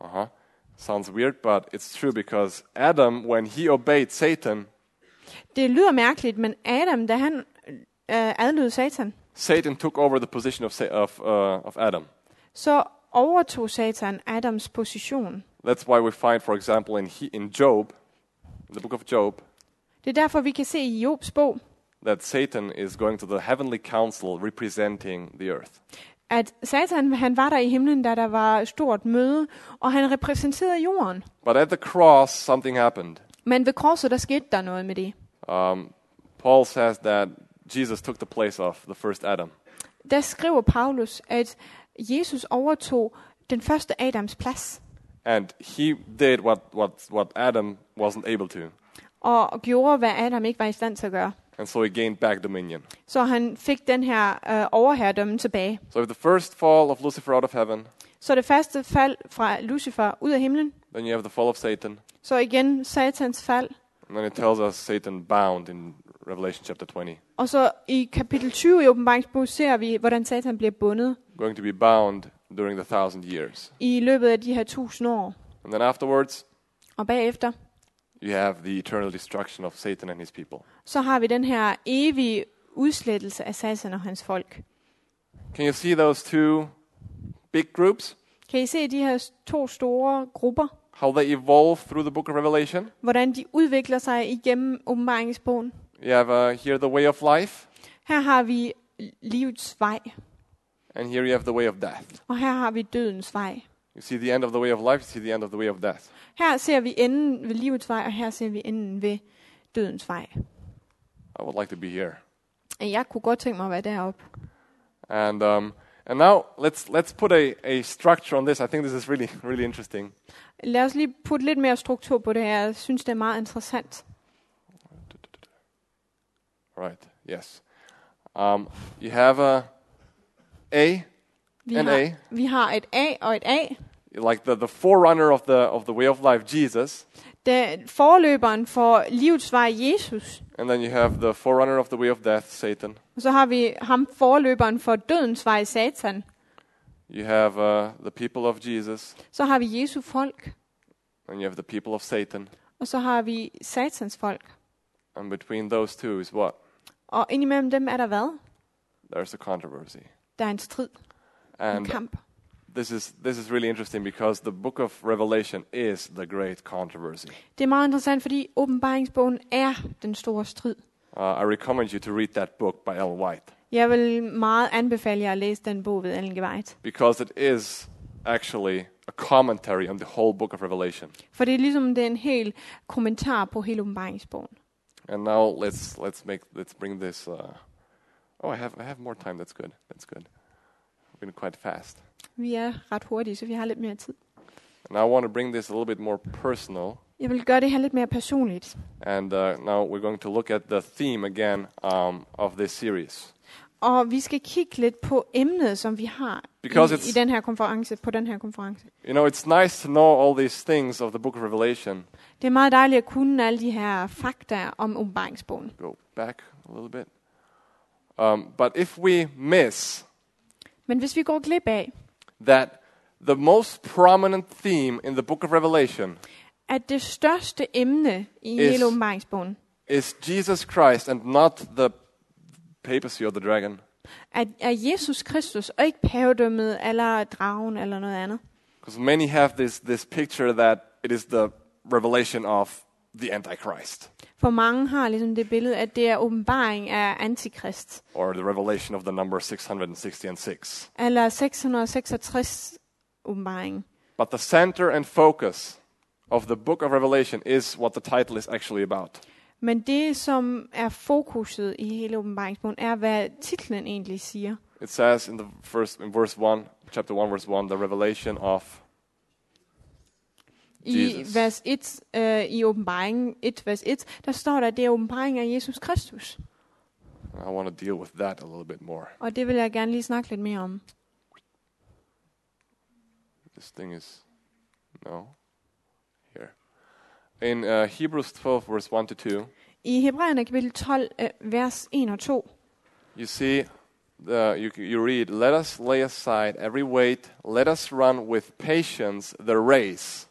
Sounds weird, but it's true because Adam, when he obeyed Satan, det lyder mærkeligt, men Adam, da han adlød Satan, Satan took over the position of Adam. Så overtog Satan Adams position. That's why we find, for example, in Job, in the book of Job, det er derfor vi kan se i Jobs bog, that Satan is going to the heavenly council representing the earth. At Satan, han var der i himlen, da der var stort møde, og han repræsenterede jorden. But at the cross, something happened. Men ved korset, der skete der noget med det. Paul says that Jesus took the place of the first Adam. Der skriver Paulus, at Jesus overtog den første Adams plads. And he did what Adam wasn't able to. Og gjorde, hvad Adam ikke var i stand til at gøre. And so he gained back dominion. Så han fik den her overherredømme tilbage. So if the first fall of Lucifer out of heaven, så det første fald fra Lucifer ud af himlen, then you have the fall of Satan. Så igen Satans fald. And then it tells us Satan bound in Revelation chapter 20. Og så i kapitel 20 i Åbenbaringsbogen ser vi, hvordan Satan bliver bundet. Going to be bound during the 1000 years. I løbet af de her 1000 år. And then afterwards, og bagefter, you have the eternal destruction of Satan and his people. Så har vi den her evige udslettelse af Satan og hans folk. Can you see those two big groups? Kan I se de her to store grupper? How they evolve through the book of Revelation? Hvordan de udvikler sig igennem Åbenbaringsbogen. You have here the way of life. Her har vi livets vej. And here you have the way of death. Og her har vi dødens vej. You see the end of the way of life, you see the end of the way of death. Her ser vi enden ved livets vej, og her ser vi enden ved dødens vej. I would like to be here. Jeg kunne godt tænke mig at være deroppe. And now let's put a structure on this. I think this is really interesting. Lad os lige putte lidt mere struktur på det her. Jeg synes det er meget interessant. Right. Yes. You have A and A. Vi har et A og et A. Like the forerunner of the way of life, Jesus. Det forløberen for livets vej, Jesus. And then you have the forerunner of the way of death, Satan. Og så har vi ham forløberen for dødens vej, Satan. You have the people of Jesus. Så har vi Jesu folk. And you have the people of Satan. Og så har vi Satans folk. And between those two is what? Og indimellem dem er der hvad? There's a controversy. Der er en strid. En kamp. This is really interesting because the book of Revelation is the great controversy. Det er meget interessant, fordi Åbenbaringsbogen er den store strid. I recommend you to read that book by Ellen White. Jeg vil meget anbefale jer at læse den bog ved Ellen G. White. Because it is actually a commentary on the whole book of Revelation. For det er ligesom det er en hel kommentar på hele Åbenbaringsbogen. And now let's bring this. I have more time. That's good. I've been quite fast. Vi er ret hurtige, så vi har lidt mere tid. And I want to bring this a little bit more personal. Jeg vil gøre det her lidt mere personligt. And now we're going to look at the theme again of this series. Og vi skal kigge lidt på emnet, som vi har i den her konference, på den her konference. You know, it's nice to know all these things of the book of Revelation. Det er meget dejligt at kunne alle de her fakta om Åbenbaringsbogen. Go back a little bit. But if we miss Men hvis vi går glip af, that the most prominent theme in the book of Revelation at det største emne i hele Åbenbaringsbogen is Jesus Christ and not the papacy or the dragon. At er Jesus Kristus og ikke pavedømmet eller dragen eller noget andet. Because many have this picture that it is the revelation of the Antichrist. For mange har ligesom det billede, at det er åbenbaring af Antikrist. Or the revelation of the number 666. Eller 666 åbenbaring. But the center and focus of the book of Revelation is what the title is actually about. Men det, som er fokuset i hele åbenbaringsbogen, er, hvad titlen egentlig siger. It says in verse 1, chapter 1, verse 1, the revelation of I Jesus. vers 1, i åbenbaringen 1, vers 1, der står der, at det er åbenbaringen af Jesus Kristus. I want to deal with that a little bit more. Og det vil jeg gerne lige snakke lidt mere om. This thing is, no, here. In Hebrews 12, verse 1-2, I Hebræerne kapitel 12, vers 1 og 2, you see, you read, let us lay aside every weight, let us run with patience the race.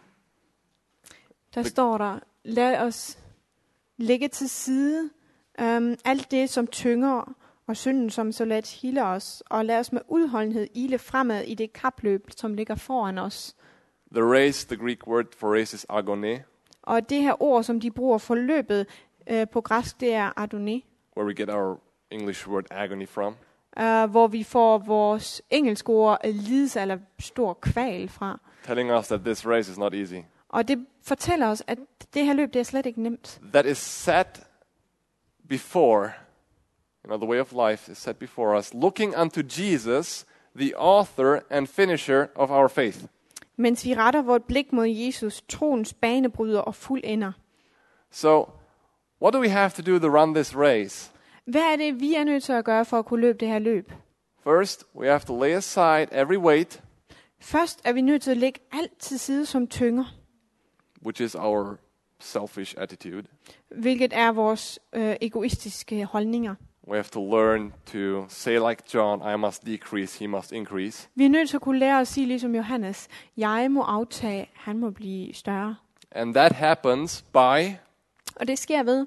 der står der, lad os lægge til side alt det, som tynger, og synden, som så let hilder os, og lad os med udholdenhed ile fremad i det kapløb, som ligger foran os. The race, the Greek word for race is agone, Og det her ord, som de bruger for løbet på græsk, det er adone, where we get our English word agony from. hvor vi får vores engelske ord lidelse eller stor kval fra. Telling us that this race is not easy. Og det fortæller os, at det her løb, det er slet ikke nemt. That is set before, the way of life is set before us, looking unto Jesus, the author and finisher of our faith. Mens vi retter vort blik mod Jesus, troens banebryder og fuldender. So, what do we have to do to run this race? Hvad er det, vi er nødt til at gøre for at kunne løbe det her løb? First, we have to lay aside every weight, Først er vi nødt til at lægge alt til side som tynger, which is our selfish attitude. hvilket er vores egoistiske holdninger. We have to learn to say like John, I must decrease, he must increase. Vi er nødt til at kunne lære at sige ligesom Johannes, jeg må aftage, han må blive større. And that happens by Og det sker ved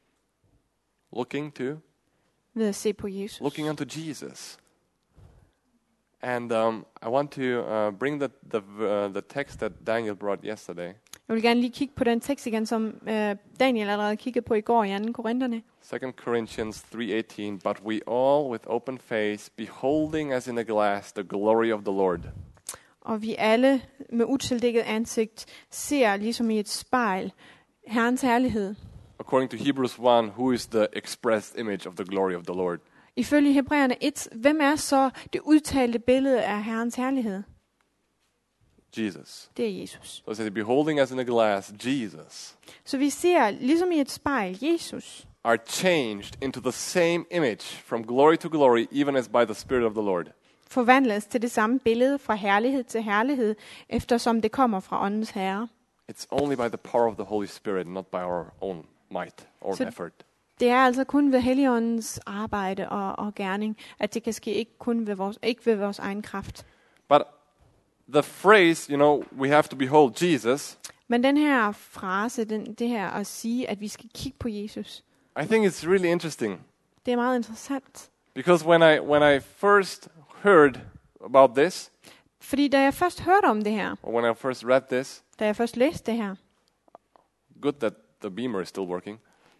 looking at se på Jesus. unto Jesus. And I want to bring the text that Daniel brought yesterday. Jeg vil gerne lige kigge på den tekst igen, som Daniel allerede kiggede på i går i 2. Korinterne. 2 Corinthians 3:18, but we all with open face, beholding as in a glass the glory of the Lord. Og vi alle med utildækket ansigt ser ligesom i et spejl Herrens herlighed. According to Hebrews 1, who is the expressed image of the glory of the Lord? Ifølge Hebræerne 1, hvem er så det udtalte billede af Herrens herlighed? Jesus. Det er Jesus. So it says, beholding as in a glass, Jesus, Så vi ser ligesom i et spejl Jesus are changed into the same image from glory to glory, even as by the Spirit of the Lord. forvandles til det samme billede fra herlighed til herlighed, eftersom det kommer fra åndens herre. It's only by the power of the Holy Spirit, not by our own might or Så- effort. Det er altså kun ved Helligåndens arbejde og gerning, at det kan ske ikke ved vores egen kraft. But the phrase, we have to behold Jesus, Men den her frase, det her at sige, at vi skal kigge på Jesus, I think it's really interesting. det er meget interessant. Because when I first heard about this, Fordi da jeg først hørte om det her, or when I first read this, da jeg først læste det her, good that the beamer is still working.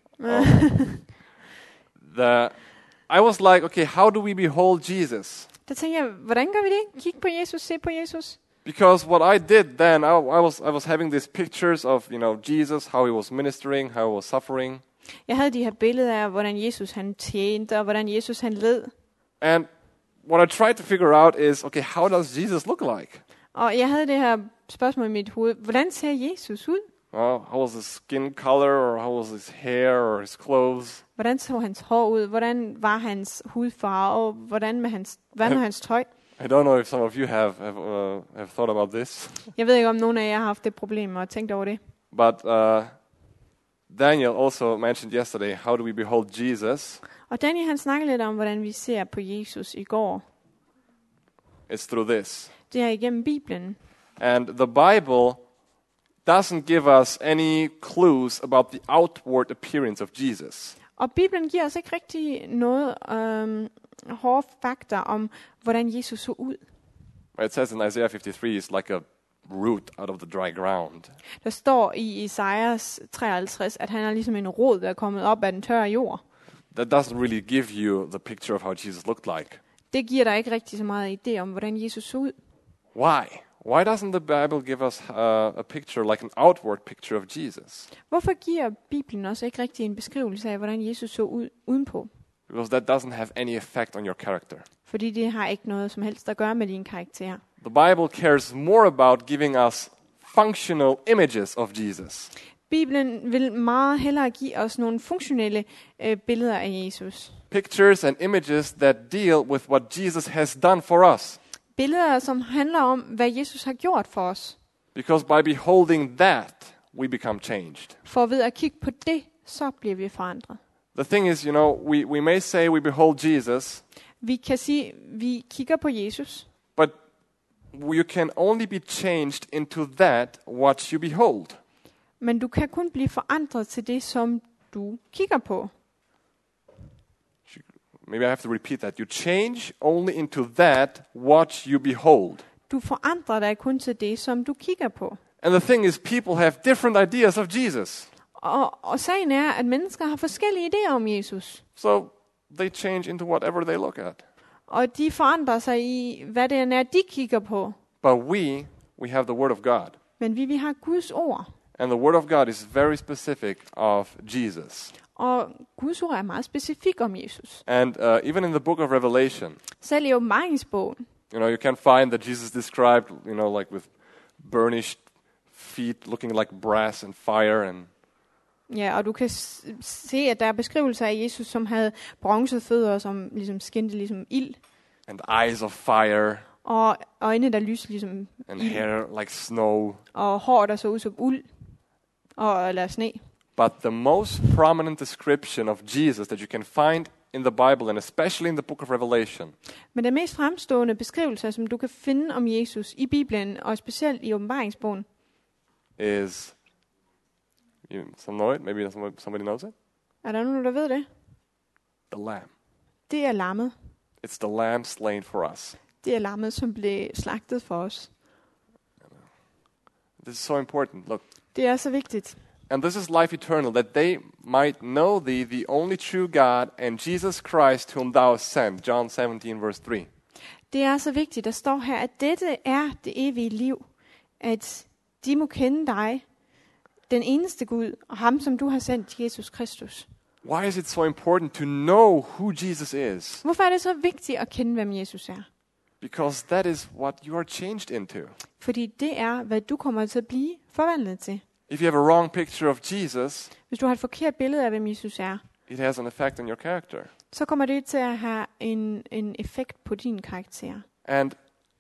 I was like, okay, how do we behold Jesus? der tænkte jeg, hvordan gør vi det? Kig på Jesus, se på Jesus. Because what I did then, I was having these pictures of, Jesus, how he was ministering, how he was suffering. Jeg havde de her billeder af, hvordan Jesus han tjente, og hvordan Jesus han led. And what I tried to figure out is, okay, how does Jesus look like? Og jeg havde det her spørgsmål i mit hoved. Hvordan ser Jesus ud? How was his skin color, or how was his hair, or his clothes? Hvordan så hans hår ud? Hvordan var hans hudfarve? Og hvad med hans tøj? I don't know if some of you have thought about this, Jeg ved ikke, om nogen af jer har haft det problem og tænkt over det. but Daniel also mentioned yesterday, how do we behold Jesus? Og Daniel han snakkede lidt om, hvordan vi ser på Jesus i går. It's through this. Det er igennem Bibelen. And the Bible doesn't give us any clues about the outward appearance of Jesus. Og Bibelen giver os ikke rigtig noget hårde fakta om, hvordan Jesus så ud. It says in Isaiah 53, it's like a root out of the dry ground. Der står i Esajas 53, at han er ligesom en rod, der er kommet op af den tørre jord. That doesn't really give you the picture of how Jesus looked like. Det giver dig ikke rigtig så meget idé om, hvordan Jesus så ud. Why? Why doesn't the Bible give us a picture, like an outward picture of Jesus? Hvorfor giver Bibelen os ikke rigtig en beskrivelse af, hvordan Jesus så ud udenpå? Because that doesn't have any effect on your character. Fordi det har ikke noget som helst at gøre med din karakter. The Bible cares more about giving us functional images of Jesus. Bibelen vil meget hellere give os nogle funktionelle billeder af Jesus. Pictures and images that deal with what Jesus has done for us. Billeder, som handler om, hvad Jesus har gjort for os. Because by beholding that, we become changed. For ved at kigge på det, så bliver vi forandret. The thing is, we may say we behold Jesus, Vi kan sige, vi kigger på Jesus, but you can only be changed into that what you behold. men du kan kun blive forandret til det, som du kigger på. Maybe I have to repeat that. You change only into that what you behold. Du forandrer dig kun til det, som du kigger på. And the thing is, people have different ideas of Jesus. Og sagen er, at mennesker har forskellige idéer om Jesus. So they change into whatever they look at. Og de forandrer sig i, hvad det er, de kigger på. But we have the Word of God. Men vi har Guds ord. And the Word of God is very specific of Jesus. Og Guds ord er meget specifik om Jesus. And even in the book of Revelation, Selv i åbenbaringsbogen, you can find that Jesus described, like with burnished feet, looking like brass and fire, and ja, og du kan se, at der er beskrivelser af Jesus, som havde bronzede fødder, som ligesom skinte ligesom ild. and eyes of fire, Og øjne, der lyste ligesom and ild. hair like snow. Og hår, der så ud som uld. Eller sne. But the most prominent description of Jesus that you can find in the Bible, and especially in the book of Revelation, Men den mest fremstående beskrivelse, som du kan finde om Jesus i Bibelen, og specielt i åbenbaringsbogen, is, some know it, maybe somebody knows it, er der nogen, der ved det? the Lamb. Det er lammet. It's the Lamb slain for us. Det er lammet, som blev slagtet for os. This is so important. Look, Det er så vigtigt. and this is life eternal, that they might know thee, the only true God, and Jesus Christ, whom thou hast sent. John 17, verse 3. Det er så vigtigt, der står her, at dette er det evige liv. At de må kende dig, den eneste Gud, og ham, som du har sendt, Jesus Kristus. Why is it so important to know who Jesus is? Hvorfor er det så vigtigt at kende, hvem Jesus er? Because that is what you are changed into. Fordi det er, hvad du kommer til at blive forvandlet til. If you have a wrong picture of Jesus, Hvis du har et forkert billede af, hvem Jesus er, it has an effect on your character. så kommer det til at have en effekt på din karakter. And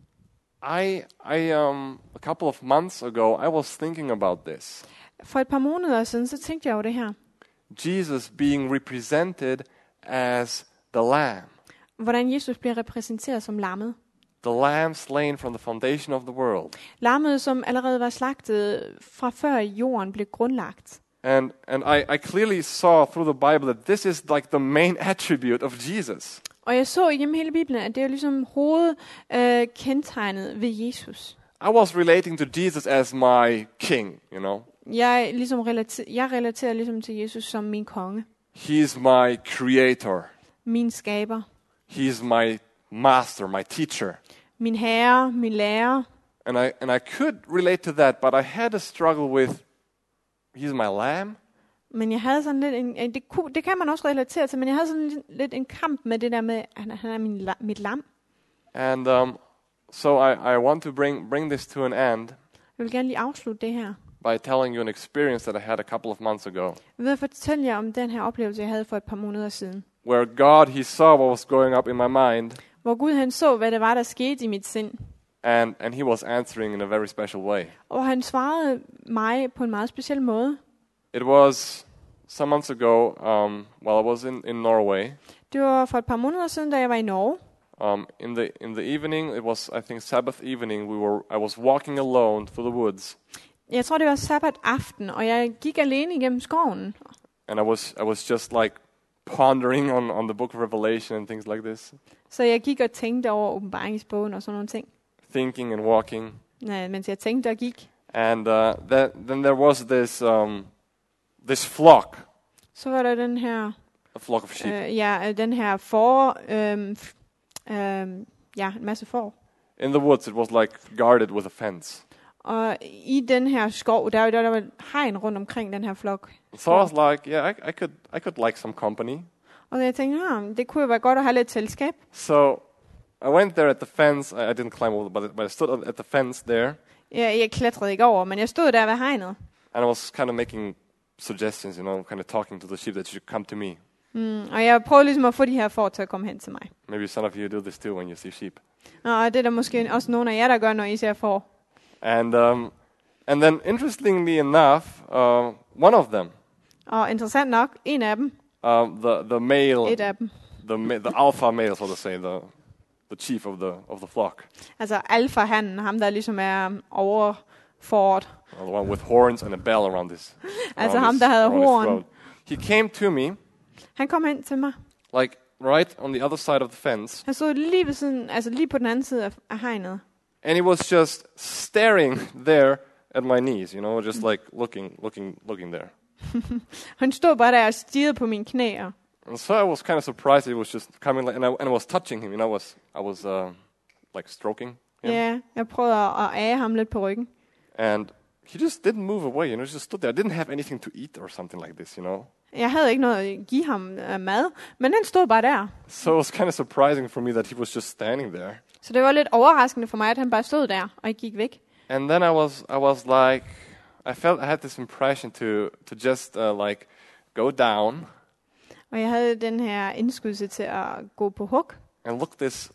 I a couple of months ago, I was thinking about this. For et par måneder siden, så tænkte jeg over det her. Jesus being represented as the Lamb. Hvordan Jesus bliver repræsenteret som lammet. The Lamb slain from the foundation of the world. Lammet, som allerede var slagtet fra før jorden blev grundlagt. And I clearly saw through the Bible that this is like the main attribute of Jesus. Og jeg så igennem hele Bibelen, at det er ligesom kendetegnet ved Jesus. I was relating to Jesus as my king, Jeg relaterer ligesom til Jesus som min konge. He's my creator. Min skaber. He's my master, my teacher. Min herre, min lærer. And I could relate to that, but I had a struggle with, he's my lamb. Men jeg havde sådan lidt det kan man også relatere til, men jeg havde sådan lidt en kamp med det der med, han er mit lam. And so I want to bring this to an end Jeg vil gerne lige afslutte det her. by telling you an experience that I had a couple of months ago, Jeg vil fortælle jer om den her oplevelse, jeg havde for et par måneder siden. where God, he saw what was going up in my mind, Hvor Gud han så, hvad det var, der skete i mit sind. and he was answering in a very special way. Og han svarede mig på en meget speciel måde. It was some months ago, while I was in Norway. Det var for et par måneder siden, da jeg var i Norge. In the evening, it was, I think, Sabbath evening. I was walking alone through the woods, Jeg tror, det var sabbat aften, og jeg gik alene igennem skoven. and I was just like pondering on the book of Revelation and things like this, Så jeg gik og tænkte over åbenbaringsbogen og sådan nogle ting, thinking and walking. mens jeg tænkte og gik. And then there was this flock, Så var der den her, a flock of sheep. den her en masse får. In the woods, it was like guarded with a fence. Og i den her skov, der var hegn rundt omkring den her flok. So I was like, yeah, I could like some company. Og jeg tænkte, det kunne jo være godt at have lidt selskab. So I went there at the fence. I didn't climb over, but I stood at the fence there. Jeg klatrede ikke over, men jeg stod der ved hegnet. And I was kind of making suggestions, kind of talking to the sheep that you should come to me. Og jeg prøvede ligesom at få de her får til at komme hen til mig. Maybe some of you do this too when you see sheep. Og det er der måske også nogle af jer, der gør, når I ser får. And then interestingly enough, one of them, Og interessant nok, en af dem, the male, et af dem, the alpha male, so to say, the chief of the flock, altså alfa-hannen, ham der ligesom er overfort. the one with horns and a bell around his, Altså ham der havde horn. he came to me, Han kom hen til mig. like right on the other side of the fence, Han stod lige ved siden, altså lige på den anden side af hegnet. and he was just staring there at my knees, just like looking there. Han stod bare der og stirrede på mine knæer. And so I was kind of surprised he was just coming, and I was touching him. I was like stroking him, Ja, jeg prøvede at age ham lidt på ryggen. and he just didn't move away. He just stood there. I didn't have anything to eat or something like this, Jeg havde ikke noget at give ham mad, men han stod bare der. So it was kind of surprising for me that he was just standing there. Så det var lidt overraskende for mig, at han bare stod der og ikke gik væk. And then I was like, I felt I had this impression to just like go down Og jeg havde den her indskydelse til at gå på hug and look this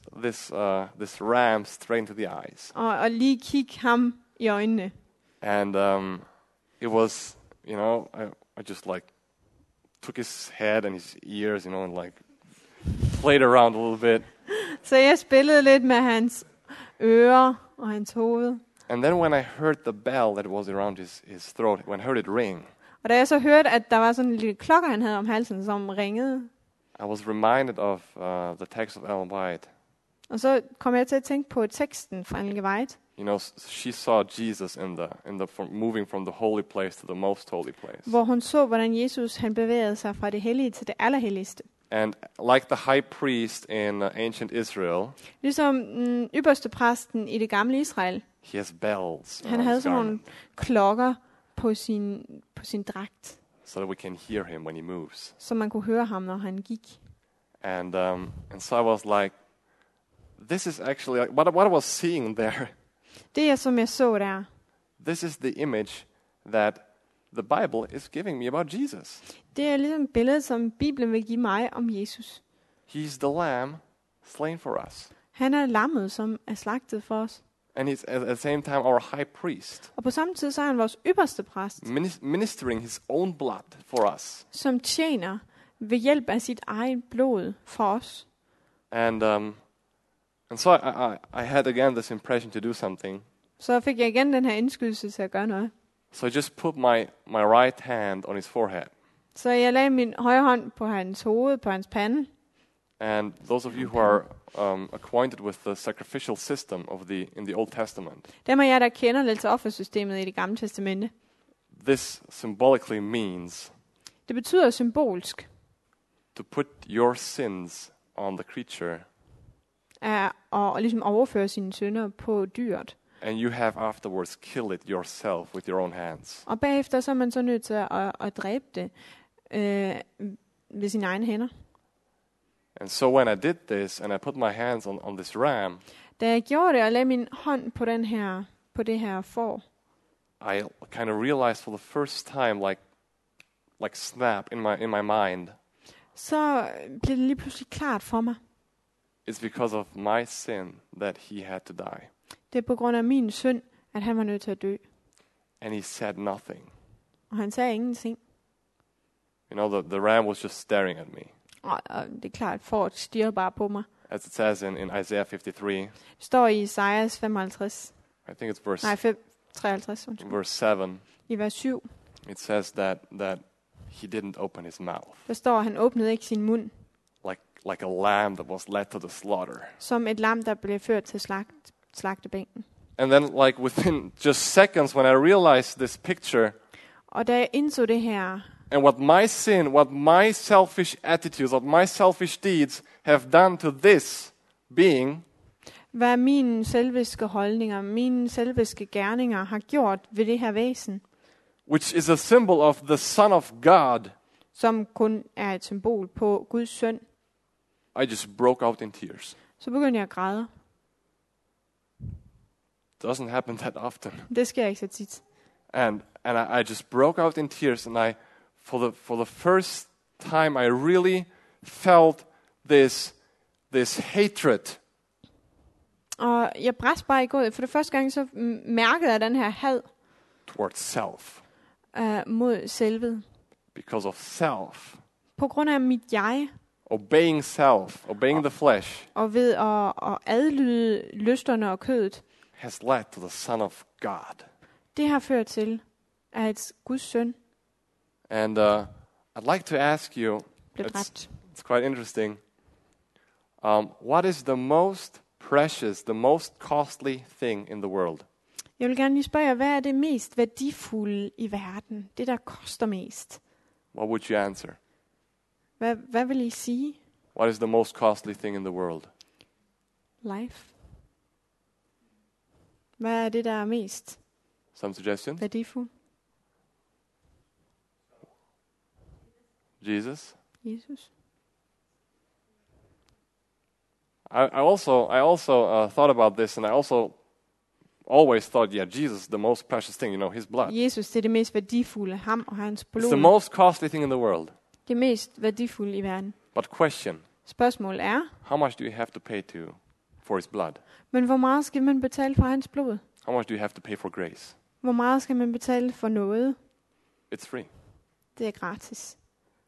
ram straight into the eyes. og lige kigge ham i øjnene. And it was, I just like took his head and his ears, and like played around a little bit. Så jeg spillede lidt med hans ører og hans hoved. And then when I heard the bell that was around his throat, when I heard it ring, Og da jeg så hørte, at der var sådan en lille klokke, han havde om halsen, som ringede, I was reminded of the text of Ellen White. og så kom jeg til at tænke på teksten fra Ellen White. She saw Jesus moving from the holy place to the most holy place. Hvor hun så, hvordan Jesus han bevægede sig fra det hellige til det allerhelligste. And like the high priest in ancient Israel, Ligesom ypperste præsten i det gamle Israel, he has bells. han havde sådan nogle klokker på sin dragt, so that we can hear him when he moves. så man kunne høre ham, når han gik. And so I was like, this is actually like, what I was seeing there. Det som jeg så der, This is the image that the Bible is giving me about Jesus. det er ligesom et billede, som Bibelen vil give mig om Jesus. He's the lamb slain for us. Han er lammet, som er slagtet for os. And he's at the same time our high priest, Og på samme tid så er han vores ypperste præst, ministering his own blood for us. som tjener ved hjælp af sit eget blod for os. And so I had again this impression to do something. Så fik jeg igen den her indskydelse til at gøre noget. So I just put my right hand on his forehead. Så jeg lagde min højre hånd på hans hoved, på hans pande. And those of you who are acquainted with the sacrificial system in the Old Testament, Dem af jer, der kender lidt til offersystemet i det gamle testamente, this symbolically means det betyder symbolsk to put your sins on the creature, at ligesom overføre sine synder på dyret. and you have afterwards killed it yourself with your own hands. Og bagefter så er man så nødt til at dræbe det ved sine egne hænder. And so when I did this, and I put my hands on this ram, Da jeg gjorde det og lagde min hånd på det her får, I kind of realized for the first time, like snap in my mind, så blev det lige pludselig klart for mig. it's because of my sin that he had to die. Det er på grund af min synd, at han var nødt til at dø. And he said nothing. Og han sagde ingenting. The ram was just staring at me. Og det er klart, for at stirre bare på mig. As it says in Isaiah 53, Det står i Isaias 55. I think it's verse 53. Undskyld. verse 7. I vers 7. It says that he didn't open his mouth, Der står, at han åbnede ikke sin mund. like a lamb that was led to the slaughter. Som et lam, der blev ført til slagtebænken. And then, like within just seconds, when I realized this picture, Og da jeg indså det her, and what my sin, what my selfish attitudes, what my selfish deeds have done to this being, Hvad mine selviske holdninger, mine selviske gerninger har gjort ved det her væsen, which is a symbol of the Son of God, som kun er et symbol på Guds søn, I just broke out in tears. så begyndte jeg at græde. Doesn't happen that often. Det sker ikke så tit. And I just broke out in tears, and for the first time I really felt this hatred Og jeg brændte bare i gået. For det første gang, så mærkede jeg den her had towards self. mod selvet. Because of self. På grund af mit jeg. Obeying self, obeying the flesh. Og ved at adlyde lysterne og kødet. Has led to the Son of God. Det har ført til, at Guds søn And I'd like to ask you, blev dræbt. it's quite interesting, what is the most precious, the most costly thing in the world? Jeg vil gerne lige spørge jer, hvad er det mest værdifulde i verden? Det, der koster mest. What would you answer? Hvad vil I sige? What is the most costly thing in the world? Life. Hvad er det, der er mest Some suggestions? værdifuldt? Jesus? Jesus. I also thought about this, and I also always thought, yeah, Jesus is the most precious thing, his blood. Jesus, det er det mest værdifulde. Ham og hans It's the blod. most costly thing in the world. Det mest værdifulde i verden. But question, Spørgsmålet er, how much do you have to pay for his blood? men hvor meget skal man betale for hans blod? How much do you have to pay for grace? Hvor meget skal man betale for noget? It's free. Det er gratis.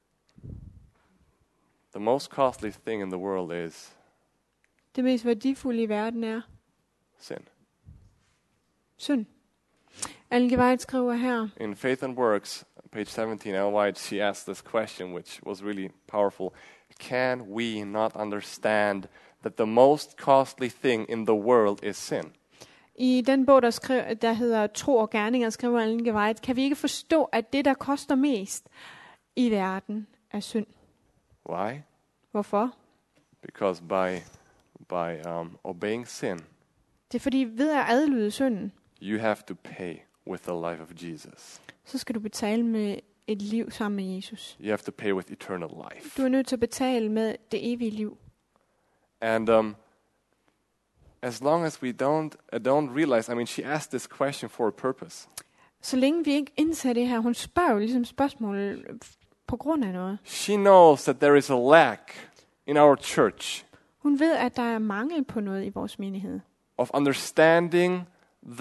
The most costly thing in the world is Det mest værdifulde i verden er sin. synd. Ellen G. White skriver her, In Faith and Works, page 17, Ellen White, she asked this question, which was really powerful. Can we not understand that the most costly thing in the world is sin? i den bog, der hedder Tro og Gerninger, skriver Ellen G. White, kan vi ikke forstå, at det, der koster mest i verden, er synd? Why? Hvorfor? Because by obeying sin, Det er fordi, ved at adlyde synden, you have to pay with the life of Jesus. så skal du betale med et liv sammen med Jesus. You have to pay with eternal life. Du er nødt til at betale med det evige liv. And as long as we don't realize, I mean, she asked this question for a purpose. Så længe vi ikke indser det her, hun spørger jo ligesom spørgsmål på grund af noget. She knows that there is a lack in our church Hun ved, at der er mangel på noget i vores menighed. of understanding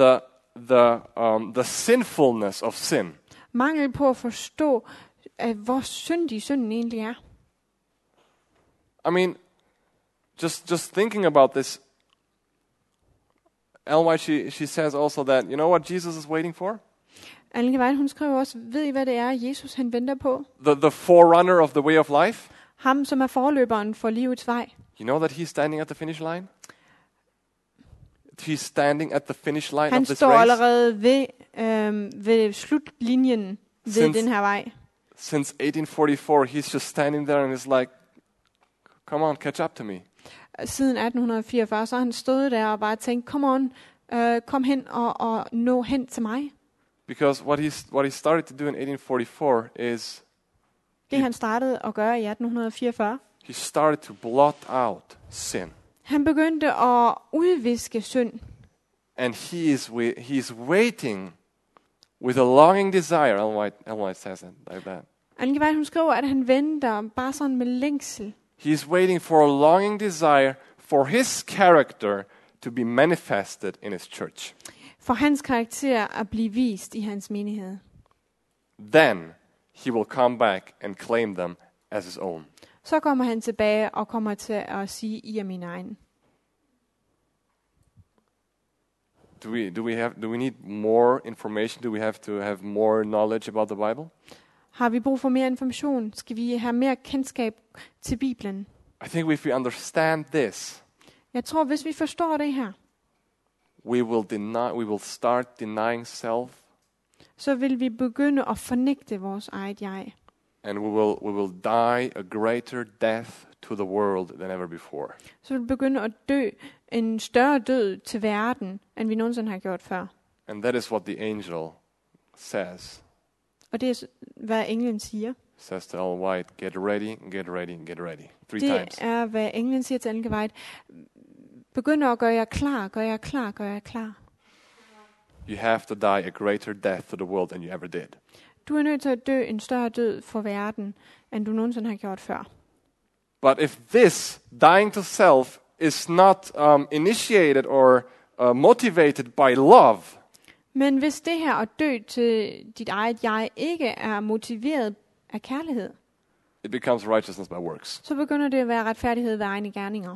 the sinfulness of sin. Mangel på at forstå, hvor syndig synden egentlig er. I mean, just thinking about this, Ellen White, she says also that, you know what Jesus is waiting for? Ellen G. White, hun skriver også, ved I hvad det er, Jesus han venter på? The forerunner of the way of life. Ham, som er forløberen for livets vej. You know that he's standing at the finish line? He's standing at the finish line Han of this står race. allerede ved slutlinjen ved den her vej. Since 1844, he's just standing there and is like, come on, catch up to me. Siden 1844, så har han stået der og bare tænkt, come on, kom hen og nå hen til mig. Because what he started to do in 1844 is Det han startede at gøre i 1844. he started to blot out sin. Han begyndte at udviske synd. And he's waiting with a longing desire. Ellen White says it like that. Ellen G. White, hun skriver, at han venter bare sådan med længsel. He's waiting for a longing desire for his character to be manifested in his church. For hans karakter at blive vist i hans menighed. Then he will come back and claim them as his own. Så kommer han tilbage og kommer til at sige, I er min egen. Do we need more information? Do we have to have more knowledge about the Bible? Har vi brug for mere information? Skal vi have mere kendskab til Bibelen? I think if we understand this, Jeg tror, hvis vi forstår det her, we will start denying self, så vil vi begynde at fornægte vores eget jeg. and we will die a greater death to the world than ever before. Så vil du begynde at dø en større død til verden, end vi nogensinde har gjort før. And that is what the angel says. Og det er, hvad englen siger. Says to Ellen White, get ready, get ready, get ready. 3 Det times. er, hvad englen siger til Ellen White. Begynd at gøre jer klar, gør jer klar, gør jer klar. You have to die a greater death to the world than you ever did. Du er nødt til at dø en større død for verden, end du nogensinde har gjort før. But if this dying to self is not initiated or motivated by love, Men hvis det her at dø til dit eget jeg ikke er motiveret af kærlighed, it becomes righteousness by works. så begynder det at være retfærdighed ved egne gerninger.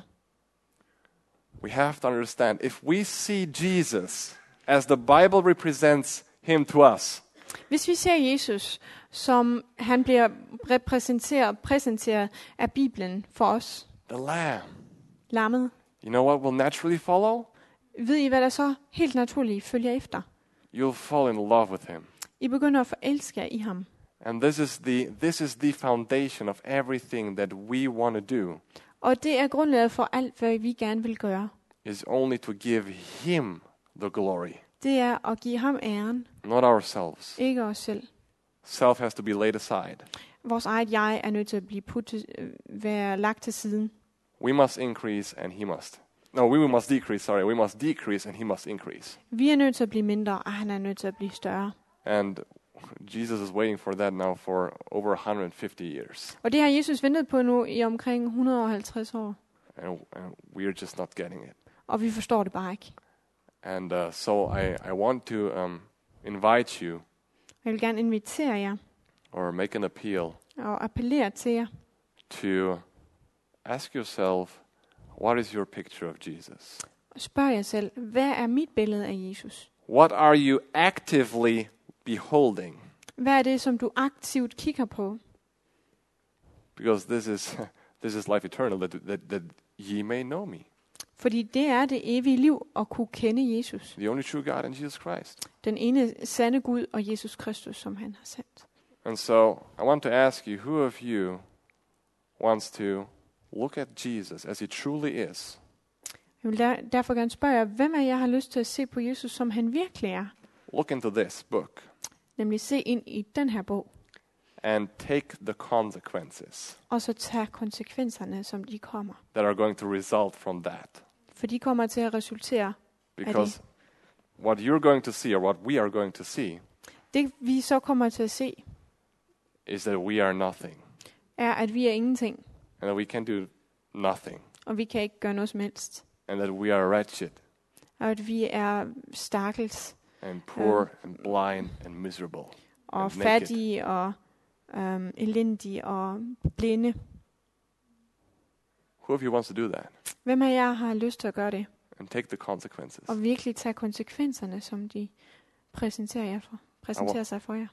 We have to understand, if we see Jesus as the Bible represents him to us, Hvis vi ser Jesus, som han bliver præsenteret af Bibelen for os, the Lamb, lammet, you know what will naturally follow? ved I, hvad der så helt naturligt følger efter? You'll fall in love with him. I begynder at forelske jer i ham. And this is the foundation of everything that we want to do, Og det er grundlaget for alt, hvad vi gerne vil gøre. is only to give him the glory, Det er at give ham æren, not ourselves. ikke os selv. Self has to be laid aside. Vores eget jeg er nødt til at blive være lagt til siden. We must increase and he must. No, we must decrease, sorry. We must decrease and he must increase. Vi er nødt til at blive mindre, og han er nødt til at blive større. And Jesus is waiting for that now for over 150 years. Og det har Jesus ventet på nu i omkring 150 år. And we're just not getting it. Og vi forstår det bare ikke. And so I want to invite you Jeg vil gerne invitere jer or make an appeal og appellere til jer. to ask yourself, what is your picture of Jesus? Og spørg jer selv, hvad er mit billede af Jesus? What are you actively beholding? Hvad er det, som du aktivt kigger på? Because this is life eternal, that ye may know me, Fordi det er det evige liv at kunne kende Jesus. the only true God and Jesus Christ. Den ene sande Gud og Jesus Kristus, som han har sendt. And so I want to ask you, who of you wants to look at Jesus as he truly is? Jeg vil derfor gerne spørge jer, hvem af jer har lyst til at se på Jesus, som han virkelig er? Look into this book Nemlig se ind i den her bog, and take the consequences og så tage konsekvenserne, som de kommer. that are going to result from that. For de kommer til at resultere. Because what you're going to see, or what we are going to see, Det vi så kommer til at se, is that we are nothing, er, at vi er ingenting, and that we can do nothing, og vi kan ikke gøre noget som helst. and that we are wretched Og at vi er stakkels, and poor and blind and miserable og and naked. fattige, og elendige, og blinde. Who of you wants to do that Hvem af jer har lyst til at gøre det? and take the consequences? Og virkelig tage konsekvenserne, som de præsenterer sig for jer.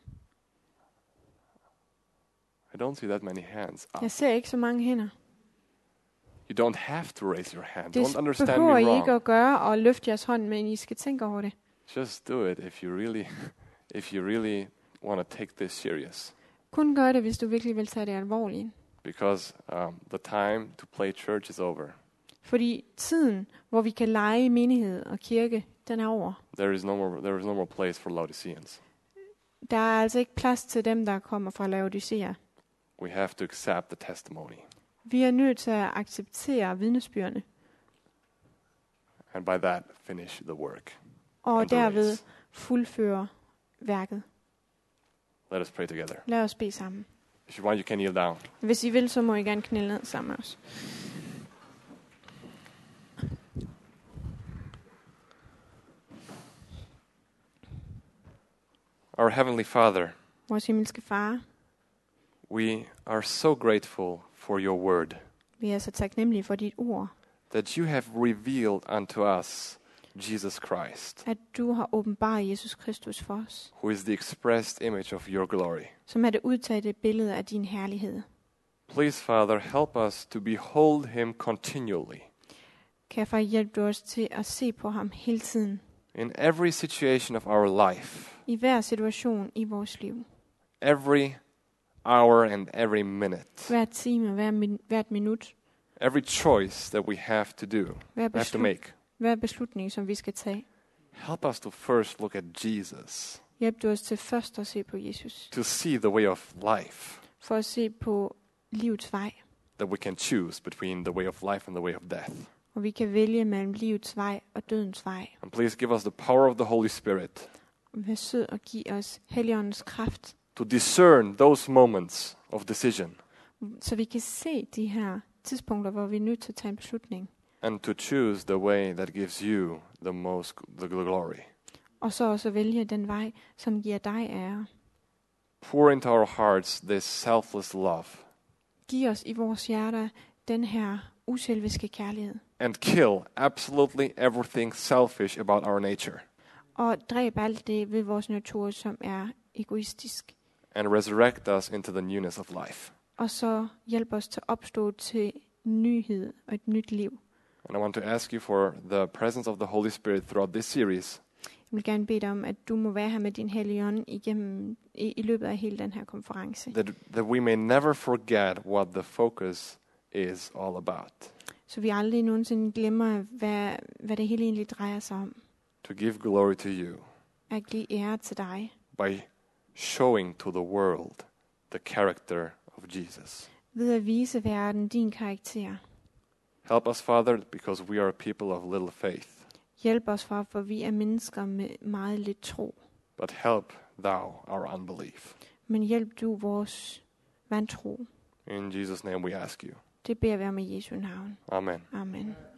I don't see that many hands up. Jeg ser ikke så mange hænder. You don't have to raise your hand. Det Don't understand behøver me I ikke wrong. at gøre og løfte jeres hånd, men I skal tænke over det. Just do it if you really want to take this serious. Kun gør det, hvis du virkelig vil tage det alvorligt. Because the time to play church is over. Fordi tiden, hvor vi kan lege i menighed og kirke, den er over. There is no more place for Laodiceans. Der er altså ikke plads til dem, der kommer fra Laodicea. We have to accept the testimony. Vi er nødt til at acceptere vidnesbyrdene, And by that, finish the work. og And the derved race. fuldføre værket. Let us pray together. Lad os bede sammen. If you want, you can kneel down. Hvis I vil, så må I gerne knæle ned sammen med os. Our Heavenly Father, Vores himmelske Far, we are so grateful for your word, vi er så taknemmelige for dit ord, that you have revealed unto us Jesus Christ, at du har åbenbaret Jesus Kristus for os, who is the expressed image of your glory. som er det udtalte billede af din herlighed. Please, Father, help us to behold him continually Kan jeg far hjælpe os til at se på ham hele tiden, in every situation of our life, i hver situation i vores liv, every hour and every minute. Hver time, hvert minut. Every choice that we have to do, have to make. Hver beslutning, som vi skal tage. Help us to first look at Jesus, Hjælp du os til først at se på Jesus. to see the way of life, For at se på livets vej. that we can choose between the way of life and the way of death. Og vi kan vælge mellem livets vej og dødens vej. And please give us the power of the Holy Spirit Vær sød og giv os Helligåndens kraft, to discern those moments of decision så vi kan se de her tidspunkter, hvor vi er nødt til at tage en beslutning. and to choose the way that gives you the glory. Og så også vælge den vej, som giver dig ære. Pour into our hearts this selfless love Giv os i vores hjerter den her uselviske kærlighed. and kill absolutely everything selfish about our nature Og dræb alt det ved vores natur, som er egoistisk. and resurrect us into the newness of life. Og så hjælp os til at opstå til nyhed og et nyt liv. And I want to ask you for the presence of the Holy Spirit throughout this series, Jeg vil gerne bede dig om, at du må være her med din hellige ånd i løbet af hele den her konference. that we may never forget what the focus is all about. Så vi aldrig nogensinde glemmer, hvad det hele egentlig drejer sig om. To give glory to you At give ære til dig. by showing to the world the character of Jesus. Ved at vise verden din karakter. Help us, Father, because we are a people of little faith. Hjælp os, far, for vi er mennesker med meget lidt tro. But help thou our unbelief. Men hjælp du vores vantro. In Jesus' name we ask you. Det beder vi om i Jesu navn. Amen. Amen.